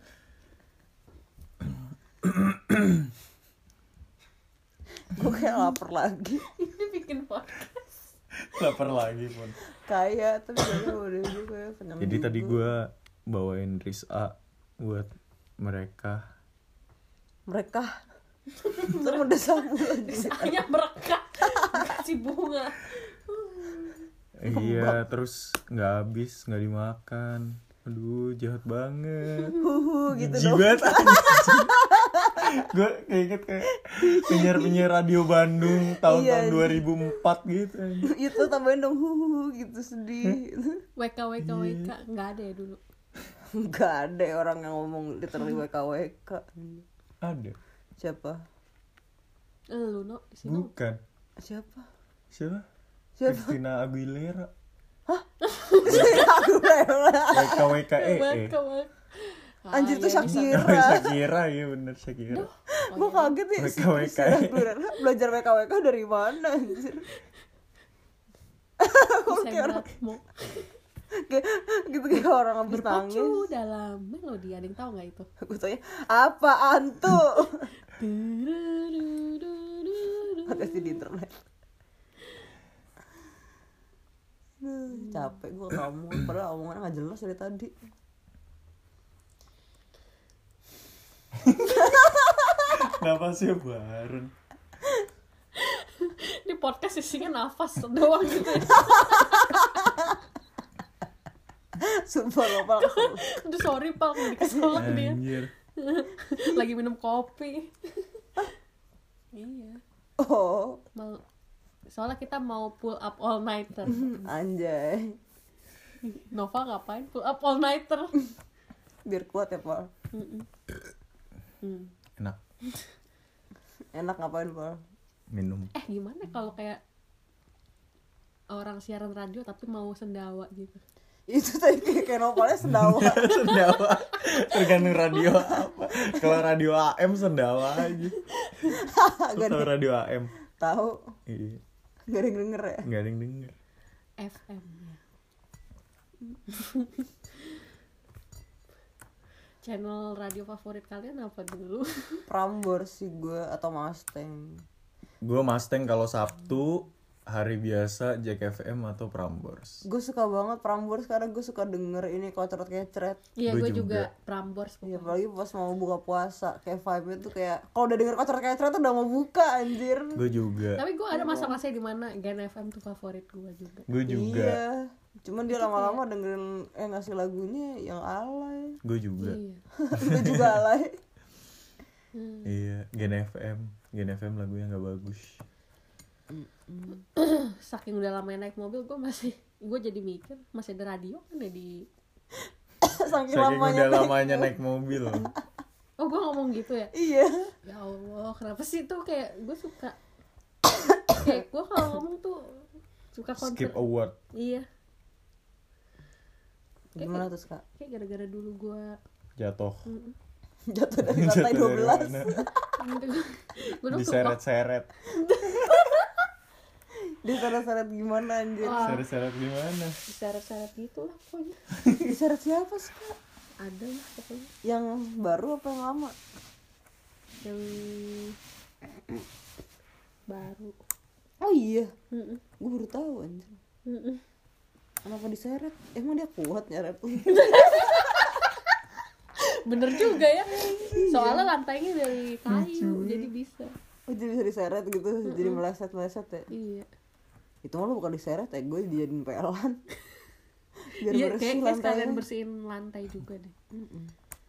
Gue kayak lapar lagi. Ini bikin podcast. Lapar lagi pun. Kayak tapi kayaknya udah gue kayak kenyang Jadi juga. tadi gue bawain Riz'a buat mereka. Mereka terus udah sabu lagi. Saya merekat kasih bunga. Iya, terus nggak habis, nggak dimakan. Aduh, jahat banget. Huhu gitu Jijik dong. banget. Gue keinget kayak penyiar-penyiar radio Bandung tahun-tahun Iya. dua ribu empat gitu. Itu tambahin dong huhu gitu sedih. W K W K W K nggak ada ya dulu. Gak ada orang yang ngomong literally W K W K. Ada. Siapa? Lu no, si no. Bukan. Siapa? Siapa? Siapa? Christina Aguilera. Aku lewat. W K W K E. Hebat, kawan. Ah, Anjir tuh ya bisa. Shakira. Shakira ya bener Shakira. Duh, oh Gue iya. kaget ya. W K W K. Christina Aguilera belajar W K W K dari mana anjir? Saya beratmu. Kayak gitu kayak orang habis nangis. Berpacu dalam melodi. Ada yang tahu nggak itu? Gue tanya apaan tuh? Makasih di internet. Duh, capek gue kamu padahal omongannya nggak jelas dari tadi. Kenapa sih Barun? Di podcast isinya nafas doang gitu. Sumpah lo Pal. Aduh sorry Pak, mau dikeselak dia. Anjir. Lagi minum kopi. Iya. Oh, Mau soalnya kita mau pull up all nighter. anjay. Nova ngapain pull up all nighter? Biar kuat ya Pal. Mm-mm. Hmm. Enak Enak ngapain Pal? minum. Eh gimana kalau kayak orang siaran radio tapi mau sendawa gitu? Itu tadi kayak, kayak nopalnya sendawa. Sendawa. Tergantung radio apa. Kalau radio A M sendawa aja. Lu Gak tau ada radio A M? tahu. Iya. Gak ada yang denger ya. Gak ada yang denger. F M ya. Channel radio favorit kalian apa dulu? Prambors sih gue atau Mustang. Gue Mustang kalau Sabtu, hari biasa Jack F M atau Prambors. Gue suka banget Prambors karena gue suka denger ini kocret kecret. Iya Gua gue juga. juga. Prambors Iya, pokoknya. apalagi pas mau buka puasa kayak vibe-nya tuh kayak kalau udah denger kocret kecret tuh udah mau buka anjir. Gue juga. Tapi gue ada masa-masa di mana Gen F M tuh favorit gue juga. Gue juga. Iya. Cuman dia lama-lama dengerin eh ngasih lagunya yang alay. Gue juga. Iya. Gue juga alay. Iya, Gen F M. Gen F M lagunya gak bagus. Saking udah lama naik mobil gue masih gue jadi mikir masih ada radio kan ya di. Saking Saking lamanya udah naik lamanya mobil. naik mobil. Oh gue ngomong gitu ya. Iya. Ya Allah kenapa sih tuh kayak gue suka. Kayak gue kalau ngomong tuh suka konser. Skip award. Iya. Gimana tuh Kak? Kayak gara-gara dulu gue. Jatuh. Jatuh dari lantai dua belas. Gue dulu suka. Diseret-seret. Diseret-seret gimana anjir? Wah. Seret-seret gimana? Diseret-seret gitu lah pokoknya. Diseret siapa sih Kak? Ada lah pokoknya. Yang baru apa yang lama? Yang baru. Oh iya, Mm-mm. gue baru tahu anjir. Mm-mm. Kenapa diseret? Emang dia kuat nyeret lu? Bener juga ya. Soalnya lantainya dari kayu jadi bisa. Oh jadi bisa diseret gitu, jadi meleset-meleset ya? Iya. Itu mah lu bukan diseret ya, gue dijadiin pelan. Biar Iya bersih kayak, kayak lantainya. sekalian bersihin lantai juga deh. Mm-mm.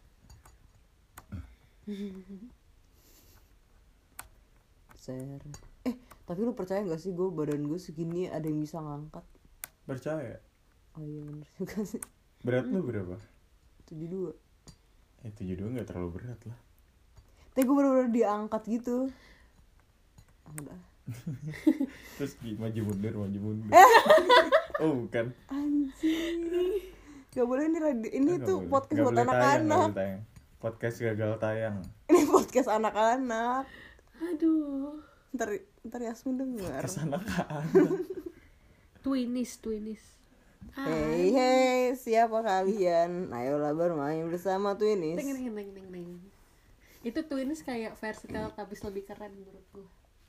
Seret. Eh, tapi lu percaya gak sih gue badan gue segini ada yang bisa ngangkat? Percaya? Oh iya bener juga sih. Berat lu berapa? tujuh puluh dua. Eh tujuh puluh dua gak terlalu berat lah. Tapi gue bener-bener diangkat gitu. Ah, udah. Terus di- maju mundur, maju mundur. Eh. Oh bukan. Anjir. Gak boleh ini radio, ini Nggak tuh boleh. podcast Nggak buat boleh tayang, nggak anak-anak. boleh tayang. Podcast gagal tayang. Ini podcast anak-anak. Aduh. Ntar, ntar Yasmin denger. Kesana kan. Twinis, twinis. Hey hey, siapa kalian? Ayolah bermain bersama Twinis. Teng, teng, teng, teng, teng. Itu twinis kayak versi Teletubbies lebih keren menurut gue.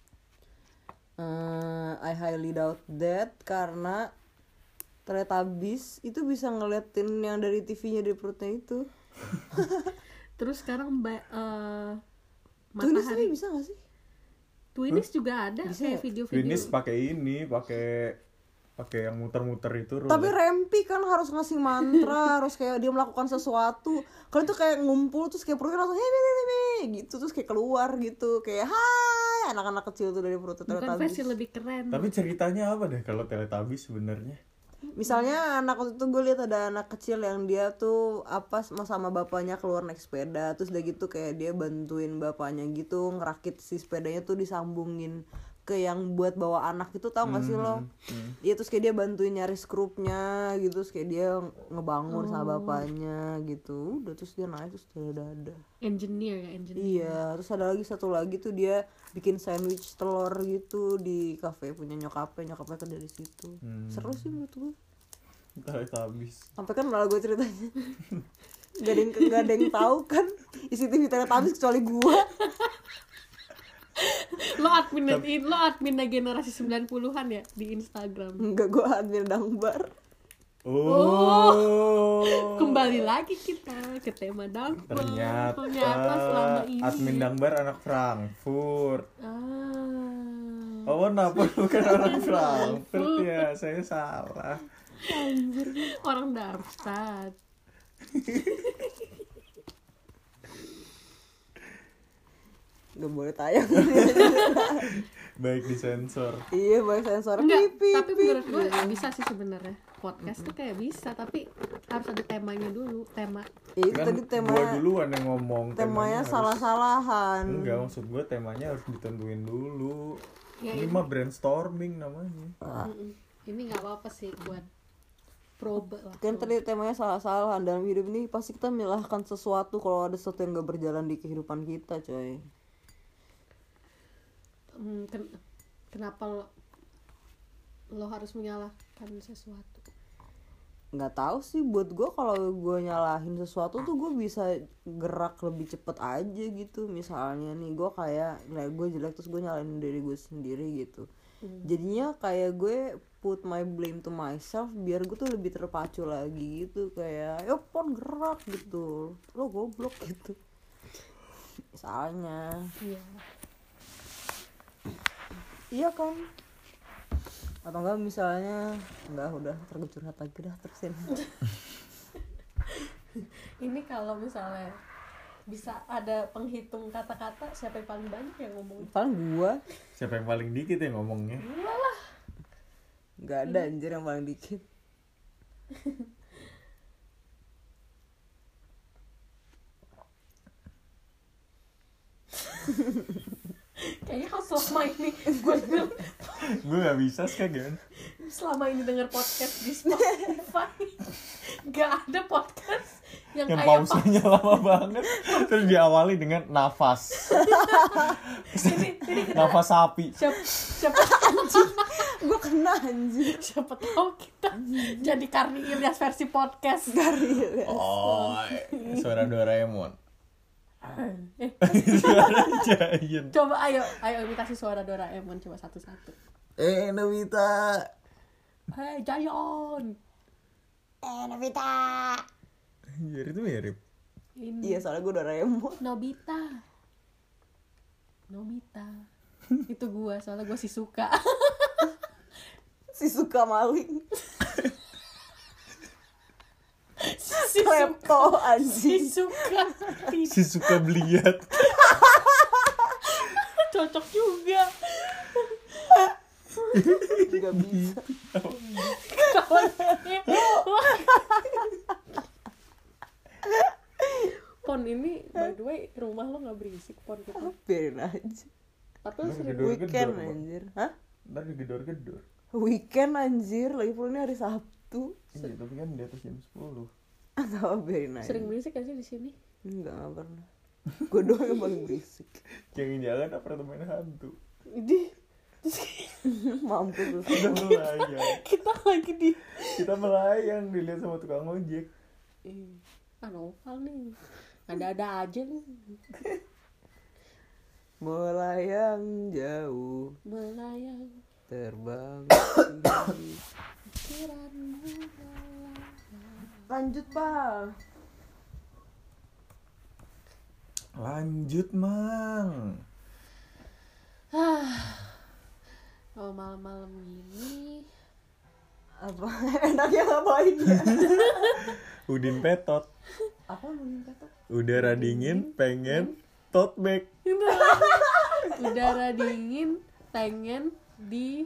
Uh, I highly doubt that karena Teletubbies itu bisa ngeliatin yang dari T V-nya dari perutnya itu. Terus sekarang mbak uh, Twinis ini matahari. bisa gak sih? Twinis juga ada Bisa kayak ya? video-video. Finis pakai ini, pakai pakai yang muter-muter itu. roulette. Tapi Rempi kan harus ngasih mantra, harus kayak dia melakukan sesuatu. Kalau itu kayak ngumpul terus kayak perutnya langsung hey, hey, hey, hey, gitu terus kayak keluar gitu kayak hai anak-anak kecil tuh dari perut Bukan Teletubbies. versi lebih keren. Tapi ceritanya apa deh kalau Teletubbies sebenarnya? Misalnya anak waktu itu gue lihat ada anak kecil yang dia tuh apa sama bapaknya keluar naik sepeda terus udah gitu kayak dia bantuin bapaknya gitu ngerakit si sepedanya tuh disambungin ke yang buat bawa anak itu, tau gak sih lo? Iya, terus kayak dia bantuin nyari skrupnya gitu, terus kayak dia ngebangun sama bapaknya gitu. Udah, terus dia naik terus dia dadah. Engineer ya, engineer. Iya, terus ada lagi satu lagi tuh dia bikin sandwich telur gitu di kafe punya nyokapnya, nyokapnya kan dari situ. Hmm. Seru sih menurut gue. Entah itu habis. Sampai kan malah gue ceritanya gak ada yang, gak ada yang tahu kan isi T V Teletubbies kecuali gue. Lo admin lo admin generasi sembilan puluhan ya di Instagram. Enggak, gue admin Dangbar. Oh. Kembali lagi kita ke tema Dangbar. Ternyata, Ternyata selama ini admin Dangbar anak Frankfurt. Ah. Oh, kenapa bukan orang Frankfurt ya? Saya salah. Anjir, orang Darmstadt. Gak boleh tayang. Baik disensor. Iya, baik sensor. Enggak, Pip, tapi pip, menurut gue pip. bisa sih sebenarnya. Podcast tuh kayak bisa, tapi harus ada temanya dulu, tema. Iya, itu Kan tadi tema gua duluan yang ngomong. temanya harus- salah-salahan. Enggak, maksud gue temanya harus ditentuin dulu. Ya, Ini mah brainstorming namanya. Mm-mm. Ini nggak apa-apa sih buat probe lah. Kan tadi temanya salah-salahan. Dalam hidup ini pasti kita menyalahkan sesuatu kalau ada sesuatu yang gak berjalan di kehidupan kita, coy. Hmm, ken- kenapa lo, lo harus menyalahkan sesuatu? Nggak tahu sih, buat gue kalau gue nyalahin sesuatu tuh gue bisa gerak lebih cepet aja gitu. Misalnya nih gue kayak nilai gue jelek terus gue nyalahin diri gue sendiri gitu. Jadinya kayak gue put my blame to myself biar gue tuh lebih terpacu lagi gitu, kayak yo pon gerak gitu, lo goblok gitu misalnya. Iya. Iya kan, atau enggak misalnya enggak, udah terus curhat lagi dah terusin. Ini kalau misalnya bisa ada penghitung kata-kata, siapa yang paling banyak yang ngomong? Paling gua Siapa yang paling dikit yang ngomongnya? nggak ada anjir yang paling dikit. Kayaknya kalau selama ini gue Gue gak bisa sekarang. selama ini denger podcast di Spotify nggak ada podcast yang, Yang kayak pausanya lama banget. Terus diawali dengan nafas. ini, ini kita, Nafas sapi. siapa siapa anjing Gua kena anjir. siapa tahu kita jadi Karni Ilyas versi podcast. Oh, suara Doraemon. Eh, Suara Giant. coba ayo ayo imitasi suara Doraemon coba satu-satu. Eh, Nobita. Hei Jayon. Eh Nobita. Anjir, itu mirip. Ini Iya, soalnya gua Doraemon. Nobita. Nobita. Itu gua, soalnya gua si suka. Si suka maling. si Klepto si anjing. suka. Si suka beliat. Cocok juga. Gak bisa. Kawannya. Pon ini by the way rumah lo nggak berisik pon gitu. Biarin aja. Tapi lo sering Gedor-gedor, Weekend Pak. anjir. Hah? Ntar digedor-gedor. Weekend anjir, lagi pula ini hari Sabtu. Iya, tapi kan di atas jam sepuluh. Atau biarin aja. sering berisik gak sih di sini? Enggak, enggak pernah. Gue doang yang paling berisik. Jangan-jangan apartemen hantu. Di Mampus lu. Kita melayang. kita lagi di Kita melayang dilihat sama tukang ojek. ah novel nih. Ada-ada aja nih. Melayang jauh, Melayang terbang. pikiranmu melayang. Lanjut, Pak. Lanjut, Mang. Oh malam-malam ini Apa enaknya ngapain ya? Udin petot. Apa lu minta tuh? Udara dingin, pengen tote bag. udara dingin pengen di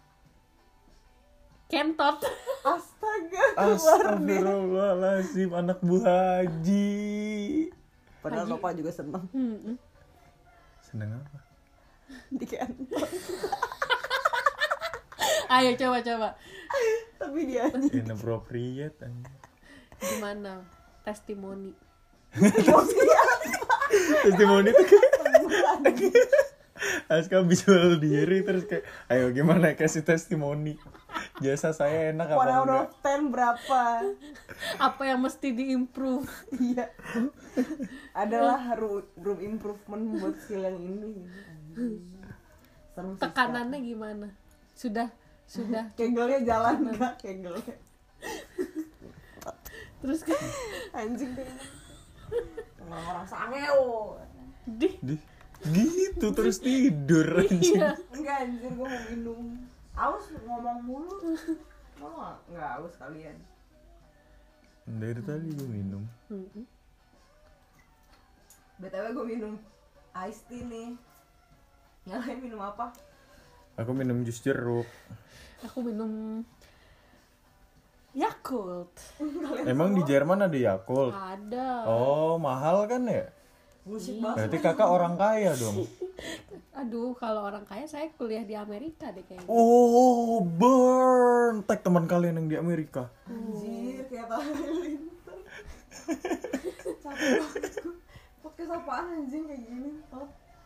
kentot. Astaga, keluar nih. Astagfirullahaladzim, anak Bu Haji. Padahal Haji. Bapak juga seneng Hmm. Seneng apa? di kantor. Ayo coba coba. Tapi dia Inappropriate anjing. Gimana? Testimoni. Testimoni tuh kayak Aska visual diri terus kayak ayo gimana kasih testimoni jasa saya enak apa one out enggak. of ten berapa? Apa yang mesti diimprove? Iya. Adalah room, room improvement buat skill yang ini. Serem sih, Tekanannya gimana? Sudah sudah. Kak. Kegelnya jalan enggak kegelnya. Terus kan Anjing deh. Orang-orang sangeo. di Di, gitu terus tidur anjing. iya. Enggak anjir, gue mau minum. Aus ngomong mulu. Ngomong enggak aus kalian. Dari tadi gue minum. Mm-mm. B T W gue minum iced tea nih. Yang lain minum apa? Aku minum jus jeruk. Aku minum Yakult. Emang di Jerman ada Yakult? Ada. Oh mahal kan ya? Bullshit banget. Berarti kakak orang kaya dong. Aduh, kalau orang kaya saya kuliah di Amerika deh kayaknya. Oh burn. Tag teman kalian yang di Amerika. Anjir, kayak Halilintar. Capek banget gue. Podcast apaan anjing kayak gini? Oh.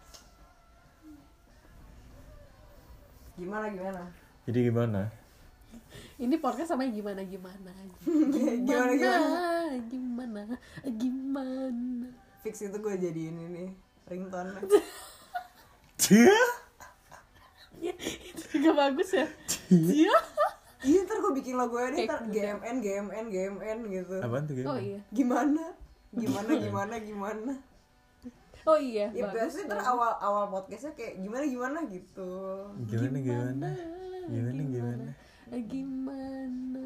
Gimana gimana? Jadi gimana? Ini podcast sama gimana gimana. Gimana gimana? Gimana? Gimana? Fix itu gue jadiin ini ringtone. Cia? Ya, itu juga bagus ya. Iya. Iya ntar gue bikin logo ini ntar Kayak G M N G M N G M N gitu. Apaan tuh Oh gimana? iya. Gimana? Gimana gimana gimana? Oh iya. Ya bagus biasanya ntar banget. awal awal podcastnya kayak gimana gimana gitu. Gimana gimana? Gimana gimana? Gimana?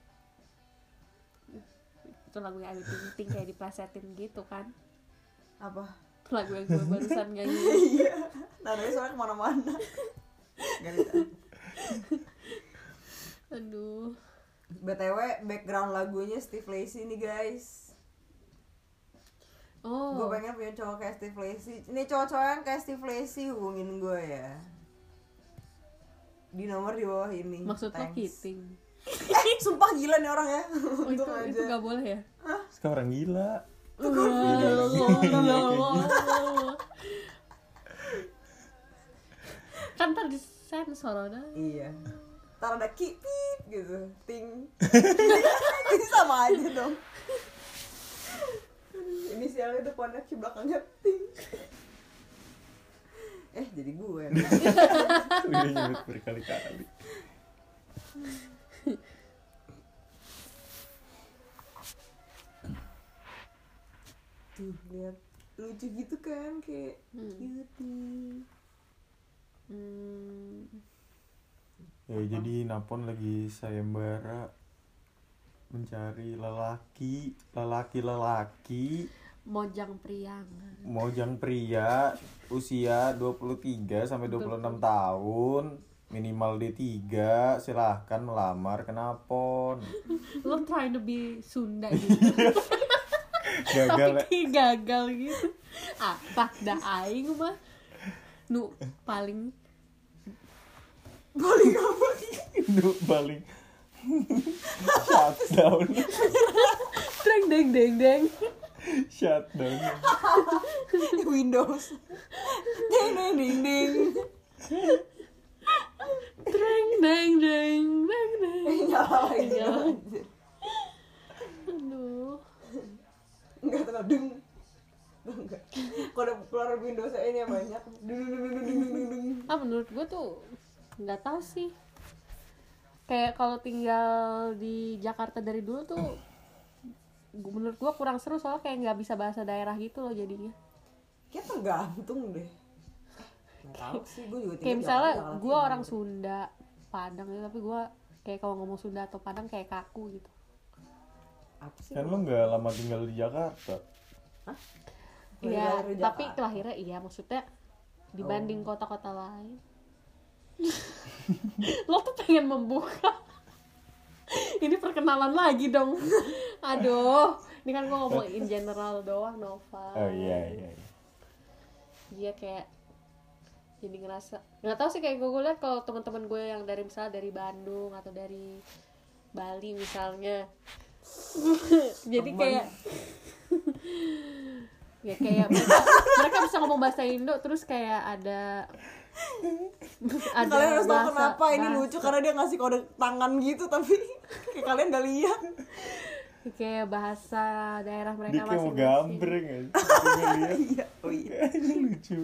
Itu lagu yang Ayu Ting Ting kayak diplesetin gitu kan. Apa? Lagu yang gue barusan nyanyi. Iya. Nadanya soalnya kemana-mana. Gak ada. Aduh. B T W background lagunya Steve Lacy nih guys. Oh. Gue pengen punya cowok kayak Steve Lacy. Ini cowok-cowok yang kayak Steve Lacy hubungin gue ya. Di nomor di bawah ini. Maksud lo Thanks. kiting. Eh, sumpah gila nih orang ya. Oh, itu Untung itu aja. gak boleh ya? Sekarang gila. Kan ntar disensor udah. Iya. Ntar ada ki pip gitu, ting. Ini sama aja dong. Inisialnya depannya ki belakangnya ting. Eh jadi gue. Udah nyebut berkali-kali. Tuh lihat lucu gitu kan kayak gitu. Hmm. Ya jadi Napon lagi sayembara mencari lelaki, lelaki-lelaki Mojang Priangan. mojang pria usia dua puluh tiga sampai dua puluh enam tahun, minimal D tiga, silahkan melamar ke Napon. Lo trying to be Sunda gitu. Gagal ya. Tapi gagal gitu. Apa dah aing mah nu paling Paling apa? Itu paling shutdown, deng deng deng deng. shutdown. Windows. Ding ding ding ding. Deng deng deng deng deng. Nyala lagi. Nyala. Anjir. Aduh. Enggak terlalu deng. Enggak. Kalau ada keluar Windows ini yang banyak. Dung dung dung dung dung dung dung. Ah menurut gue tuh nggak tahu sih. Kayak kalau tinggal di Jakarta dari dulu tuh gua- menurut gue kurang seru soalnya kayak nggak bisa bahasa daerah gitu loh jadinya. Kayak tergantung deh. Nggak tahu sih, gue juga tinggal Kayak di misalnya Jakarta, gue Jakarta orang Timur. Sunda Padang gitu tapi gue kayak kalau ngomong Sunda atau Padang kayak kaku gitu. Apa sih? Kan lu nggak lama tinggal di Jakarta. Iya, Lahir di tapi Jakarta. lahirnya iya maksudnya dibanding kota-kota lain. Lo tuh pengen membuka. Ini perkenalan lagi dong. Aduh, ini kan gue ngomong in general doang, Nova. Oh iya iya. iya. Dia kayak jadi ngerasa nggak tahu sih, kayak gue lihat kalau teman-teman gue yang dari misalnya dari Bandung atau dari Bali misalnya jadi kayak ya kayak mereka, mereka bisa ngomong bahasa Indo terus kayak ada ada Kalian harus tahu bahasa- kenapa ini bahasa- lucu, karena dia ngasih kode tangan gitu tapi kayak kalian gak lihat. kayak bahasa daerah Dia mereka kayak mau masing-masing. gambreng aja. Dia lihat. Iya, oh iya. Ini lucu.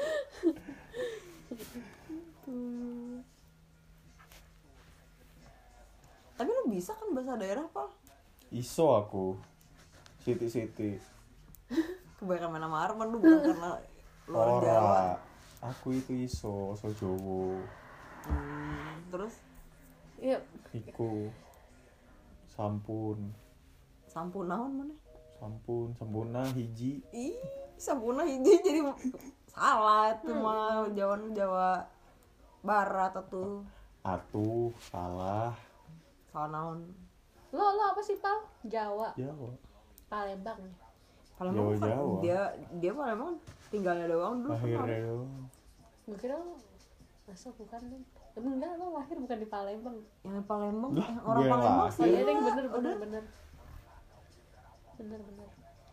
Tapi lu bisa kan bahasa daerah, Pak? Iso aku. Siti-siti. Kebanyakan main sama Arman lu, bukan karena luar Jawa. Ora. Aku itu iso, so Jowo. Hmm, terus Iya, Iku. Sampun. sampun naon mana? Sampun, sampuna hiji. Ih, sampuna hiji jadi salah itu mah Jawa Jawa Barat atau Atuh, salah. salah naon. lo lo apa sih Pal? Jawa, Jawa. Palembang ya? Palembang kan Jawa-Jawa. dia dia Palembang tinggalnya doang dulu. Lahirnya doang. Gue kira lo masa bukan dong? Enggak, lo lahir bukan di Palembang. Yang Palembang, Lah, eh, orang gue yang Palembang lahir. sih. Oh iya deh, ya. bener bener Udah. bener bener bener.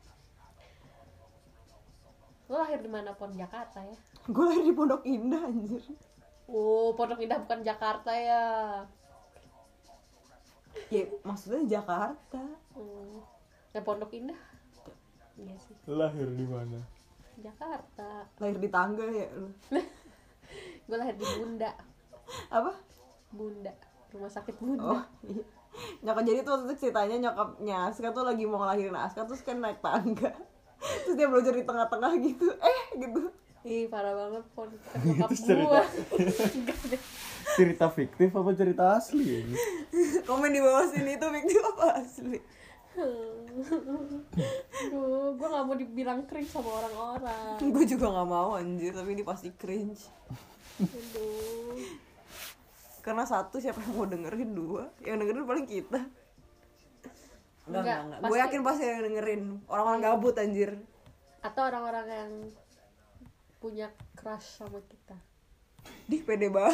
Lo lahir di mana pun Jakarta ya? Gue lahir di Pondok Indah anjir. Oh, Pondok Indah bukan Jakarta ya? Ya maksudnya Jakarta. Hmm. Ya Pondok Indah? Iya sih, Lahir di mana? Jakarta. Lahir di tangga ya lu. Gue lahir di Bunda, Apa? Bunda, rumah sakit Oh Bunda. iya. Nyokap jadi tuh waktu itu ceritanya nyokapnya Aska tuh lagi mau ngelahirin Aska terus kan naik tangga. Terus dia belajar di tengah-tengah gitu. Eh gitu. Ih parah banget pon nyokap Itu cerita. gue. Enggak deh. Cerita fiktif apa cerita asli ya? Komen di bawah sini itu fiktif apa asli? Duh, gue gak mau dibilang cringe sama orang-orang. Gue juga nggak mau anjir, tapi ini pasti cringe. Aduh. Karena satu siapa yang mau dengerin, dua yang dengerin paling kita. Enggak, Enggak, enggak, enggak. Gue pasti- yakin pasti yang dengerin orang-orang gabut anjir. Atau orang-orang yang punya crush sama kita. Dih, pede banget.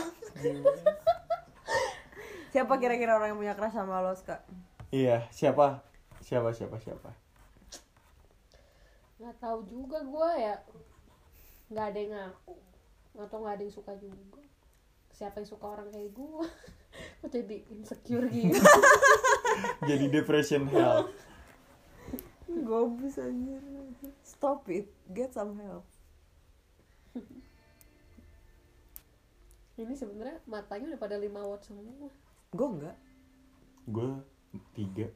Siapa kira-kira orang yang punya crush sama lo, Kak? Iya, siapa? Siapa siapa siapa? Nggak tahu juga gue ya, nggak ada yang ngaku atau nggak ada yang suka juga. Siapa yang suka orang kayak gue? Kok jadi insecure gitu? Jadi depression hell. Gobus anjir. Stop it, get some help. Ini sebenarnya matanya udah pada lima watt semua. Gue enggak. Gue tiga.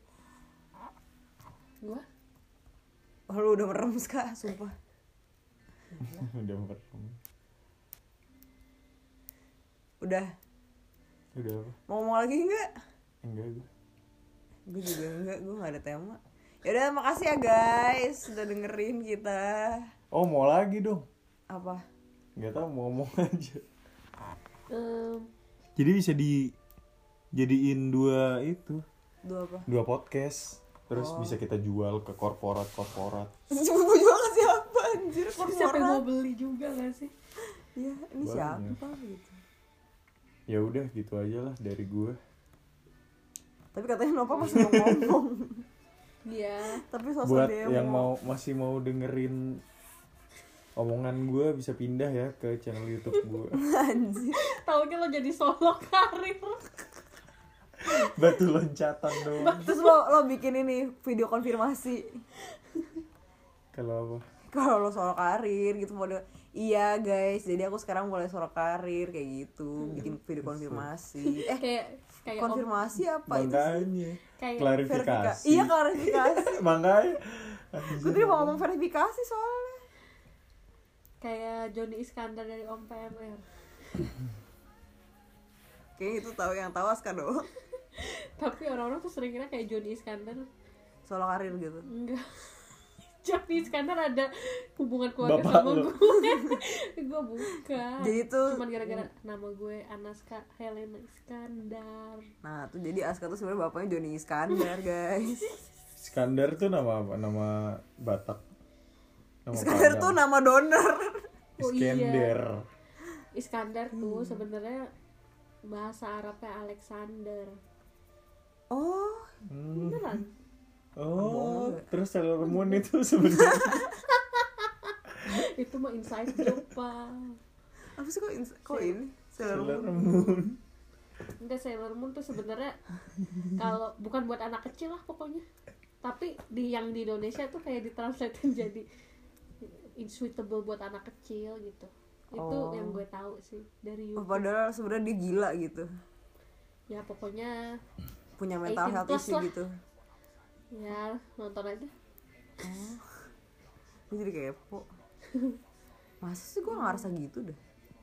Gue Oh, lu udah merem Kak, sumpah. Udah merem. Udah. Udah apa? Mau ngomong lagi enggak? Enggak gue. Gue juga enggak, gue gak ada tema. Yaudah, makasih ya guys udah dengerin kita. Oh mau lagi dong? Apa? Nggak tahu mau ngomong aja. um, Jadi bisa di jadiin dua itu, Dua apa? dua podcast. Terus Oh. bisa kita jual ke korporat-korporat. Cuma gue jual ke siapa anjir? siapa yang mau Korporat. beli juga gak sih? Iya, ini Banyak. siapa gitu. Ya udah gitu aja lah dari gue. Tapi katanya Nova masih mau ngomong. Iya. Tapi sosok Buat demo. yang mau masih mau dengerin omongan gue bisa pindah ya ke channel YouTube gue. Anjir. Taunya lo jadi solo karir. Batu loncatan dong. Terus lo lo bikin ini video konfirmasi. Kalau apa? Kalau lo solo karir gitu mode, iya guys, jadi aku sekarang mulai solo karir kayak gitu, bikin video konfirmasi. Eh, kayak kayak om- konfirmasi apa itu? Makanya Kayak klarifikasi. Verifika- Iya, klarifikasi. Makanya. Gue tadi mau ngomong verifikasi soalnya. kayak Johnny Iskandar dari Om P M R. Kayaknya itu tahu yang tahu Aska doang. Tapi orang-orang tuh sering kira kayak Johnny Iskandar. Solo karir gitu. Enggak. Johnny Iskandar ada hubungan keluarga Bapak sama lo. gue. Gue bukan. Jadi tuh- cuman gara-gara nama gue Anaska Helena Iskandar. Nah, tuh jadi Aska tuh sebenarnya bapaknya Johnny Iskandar, guys. Iskandar tuh nama apa? Nama Batak. Nama Iskandar Padang. tuh nama donor. Oh, iya. Iskandar. Iskandar tuh sebenarnya bahasa Arabnya Alexander. Oh, Hmm. Beneran? Oh, terus Sailor Moon itu sebenarnya Itu mah inside joke, Pak. apa sih kok ins- kok ini Sailor Sailor Moon? Moon. Enggak, Sailor Moon tuh sebenarnya kalau bukan buat anak kecil lah pokoknya. Tapi di yang di Indonesia tuh kayak ditranslatein jadi insuitable buat anak kecil gitu. Itu Oh. yang gue tahu sih dari Oh, YouTube. padahal sebenarnya dia gila gitu, Ya pokoknya punya mental eighteen health plus issue lah. gitu. ya nonton aja. Gue jadi kepo. Masa sih gue ngerasa gitu dah.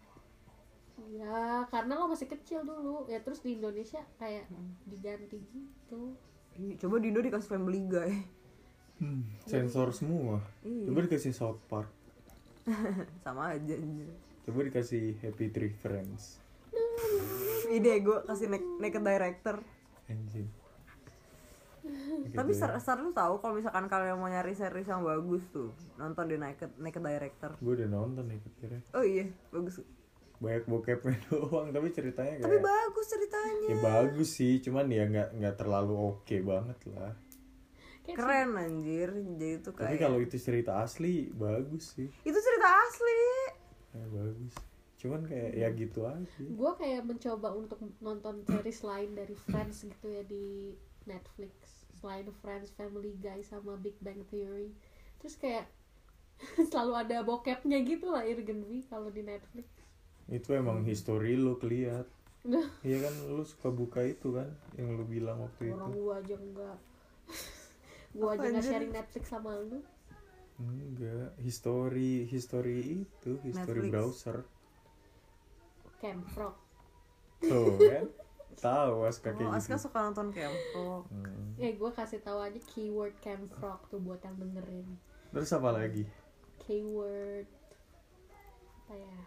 Ya karena lo masih kecil dulu. Ya terus di Indonesia kayak diganti gitu. Ih, coba di Indo dikasih Family Guy. Hmm, sensor semua. Iya. Coba dikasih South Park. Sama aja anjir. Coba dikasih Happy Tree Friends. Ide gue kasih nek naked director. Anjing. Tapi ser ser lu tahu kalau misalkan kalian mau nyari series yang bagus tuh, nonton di naked naked director. Gue udah nonton nih kira. Oh iya, bagus. Banyak bokepnya doang, tapi ceritanya kayak Tapi bagus ceritanya. ya bagus sih, cuman ya nggak nggak terlalu oke banget lah. Kayak Keren anjir. Jadi tuh Tapi kayak kalau itu cerita asli bagus sih, itu cerita asli. ya bagus. Cuman kayak ya gitu aja. gue kayak mencoba untuk nonton series lain dari Friends gitu ya di Netflix, selain Friends, Family Guy sama Big Bang Theory. Terus kayak selalu ada bokepnya gitu lah Irgenvi kalau di Netflix. Itu emang history lu keliat. Nah, Iya kan lu suka buka itu kan yang lu bilang waktu orang itu. gue aja enggak. Gue aja Apa nggak anjir? sharing Netflix sama lu. Enggak, history history itu, history Netflix. browser. Camfrog. Tuh kan. Tahu Aska Oh, kayak Aska gitu. suka nonton Camfrog. Hmm. Eh gue kasih tahu aja keyword Camfrog tuh buat yang dengerin. Terus apa lagi? Keyword apa ya?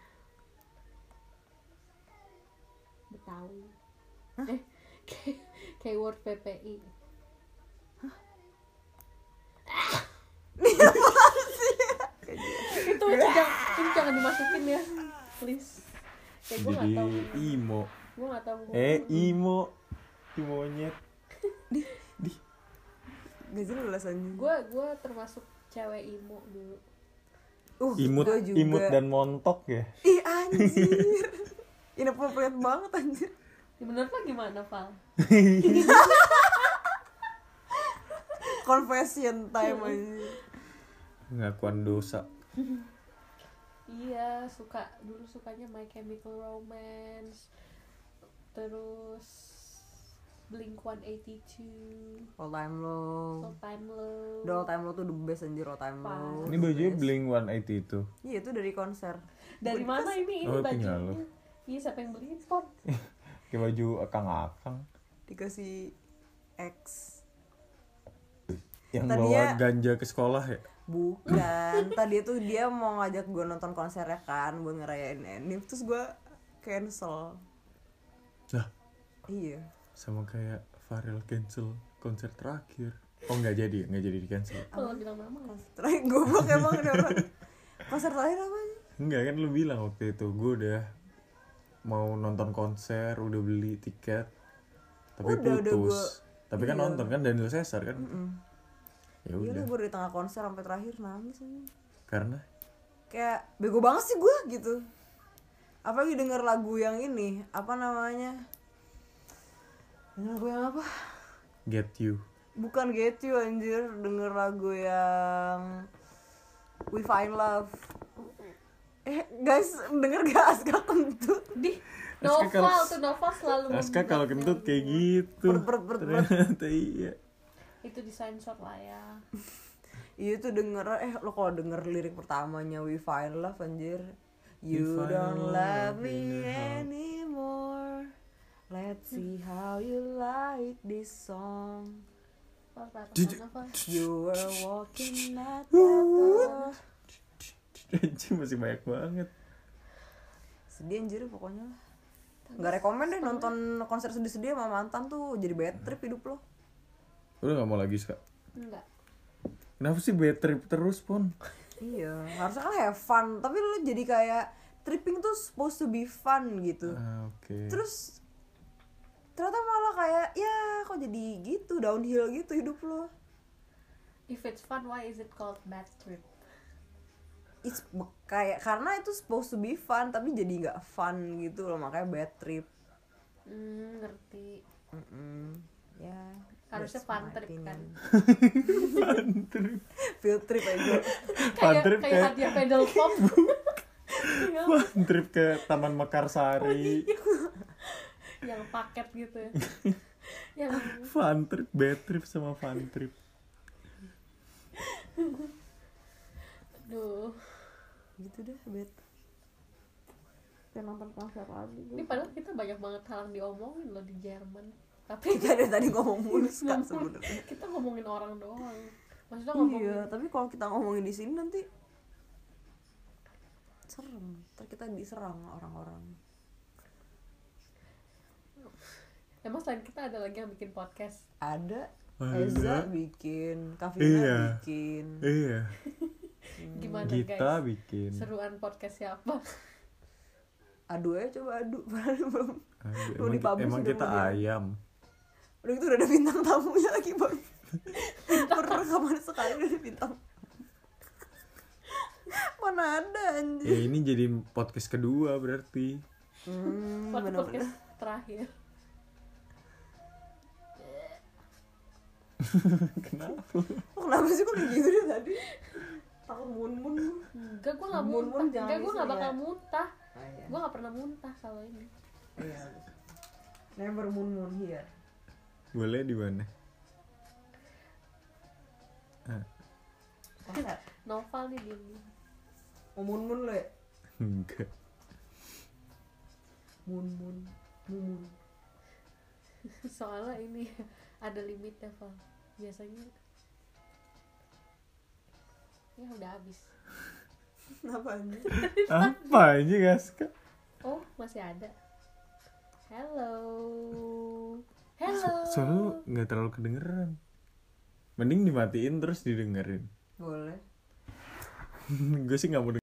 Betawi. Eh, key- keyword P P I. Itu itu jangan, itu jangan dimasukin ya, please. Kayak gue nggak Jadi tahu. imo. Gue nggak tahu. Eh, imo. Imonyet. Gak jelas anjing. Gue gue termasuk cewek imo dulu. Uh, Imut, gua juga. imut dan montok ya. Ih anjir. Inappropriate banget anjir. Ya, menurut lo gimana, Val? Confession time anjir. Pengakuan dosa. Iya, suka dulu sukanya My Chemical Romance. Terus Blink one eighty-two, All time low. All Time Low. Udah all time low tuh the best anjir, all time low. Ini bajunya Blink one eighty itu. Iya itu dari konser. Dari mana ini? Ini Oh, punya bajunya. lo. Iya, siapa yang beliin, Pon? Kayak baju akang-akang Dikasih X. yang Tadinya- bawa ganja ke sekolah ya. Bukan. Tadi tuh dia mau ngajak gue nonton konsernya kan buat ngerayain anime, terus gue cancel. Lah, Iya. sama kayak Farel cancel konser terakhir. Oh nggak jadi, nggak jadi di cancel. Kalau bilang nama nggak? Konser terakhir goblok emang ini orang. Konser terakhir apa aja? Enggak kan lu bilang waktu itu gue udah mau nonton konser, udah beli tiket, tapi Udah, udah putus. gua- Tapi kan iya. nonton kan Daniel Caesar kan. Mm-mm. Ya Iya udah. gue dari tengah konser sampai terakhir nangis aja. Karena Kayak bego banget sih gue gitu. Apalagi denger lagu yang ini, apa namanya? Denger lagu yang apa? Get You. Bukan Get You anjir, denger lagu yang We Find Love. Eh guys, denger gak Aska kentut? Di Aska Noval kalau- tuh Noval selalu Aska kalau membuatnya kentut kayak gitu. Perut, perut, perut, perut. Ternyata iya. Itu disensor lah ya. Iya tuh denger, eh lo kalau denger lirik pertamanya We Find Love anjir. You We find don't love love me in a heart. anymore. Let's see how you like this song. Val, parah Jujur. mana, Val? You were walking at the door. Anjing masih banyak banget. Sedih anjir pokoknya lah. Gak rekomen deh nonton konser sedih-sedih sama mantan tuh, jadi bad trip hidup lo. Udah nggak mau lagi Ska? Enggak. Kenapa sih bad trip terus Pon? Iya, harusnya kan have fun, tapi lu jadi kayak tripping tuh supposed to be fun gitu. Ah, oke. Terus ternyata malah kayak ya kok jadi gitu, downhill gitu hidup lo. If it's fun, why is it called bad trip? It's be- kayak karena itu supposed to be fun tapi jadi nggak fun gitu loh, makanya bad trip. Hmm, ngerti. Mm-mm. Ya Harusnya that's fun my trip opinion. kan. Fun trip. Field trip aja. Fun Kayak trip kayak kayak hadiah pedal pop. fun trip ke Taman Mekarsari. Yang paket gitu ya. Yang Fun trip, bad trip sama fun trip. aduh. Gitu deh bad. Kayak nonton konser lagi. Ini padahal kita banyak banget hal yang diomongin loh di Jerman. Tapi Kita dari tadi ngomong mulus kan sebenarnya. kita ngomongin orang doang. Maksudnya ngomongin Iya, tapi kalau kita ngomongin di sini nanti serem. Ntar kita diserang orang-orang. emang selain kita ada lagi yang bikin podcast. Ada Ada. Eza bikin, Kavina Iya. bikin. Iya. Gimana Kita guys? bikin. Seruan podcast siapa? Adu aja coba adu. Padahal belum. Aduh, Mau emang, dipublish emang udah kita mau dia. ayam. Udah gitu udah ada bintang tamunya lagi baru. Baru rekaman sekali udah ada bintang. Mana ada anjir. Ya ini jadi podcast kedua berarti. Hmm, Pod- bener-bener. podcast terakhir. Kenapa? Oh, kenapa sih kok kayak gitu deh tadi? Takut mun-mun. Enggak, gue gak Mun-mun muntah. jangan Enggak, gue gak bisa bakal ya. muntah. Ah, iya. Gue gak pernah muntah kalau ini. Iya. Never mun-mun here. Boleh di mana? Ah, Masa? Novel nih diem. Mau mun-mun lo ya? enggak. Mun-mun. Mun-mun. Soalnya ini ada limitnya, Val. Biasanya ya udah habis. Kenapa anjir? Apa ini guys? Oh, masih ada. Hello. Hello. Soalnya nggak terlalu kedengeran. Mending dimatiin terus didengerin. Boleh. Gue sih nggak mau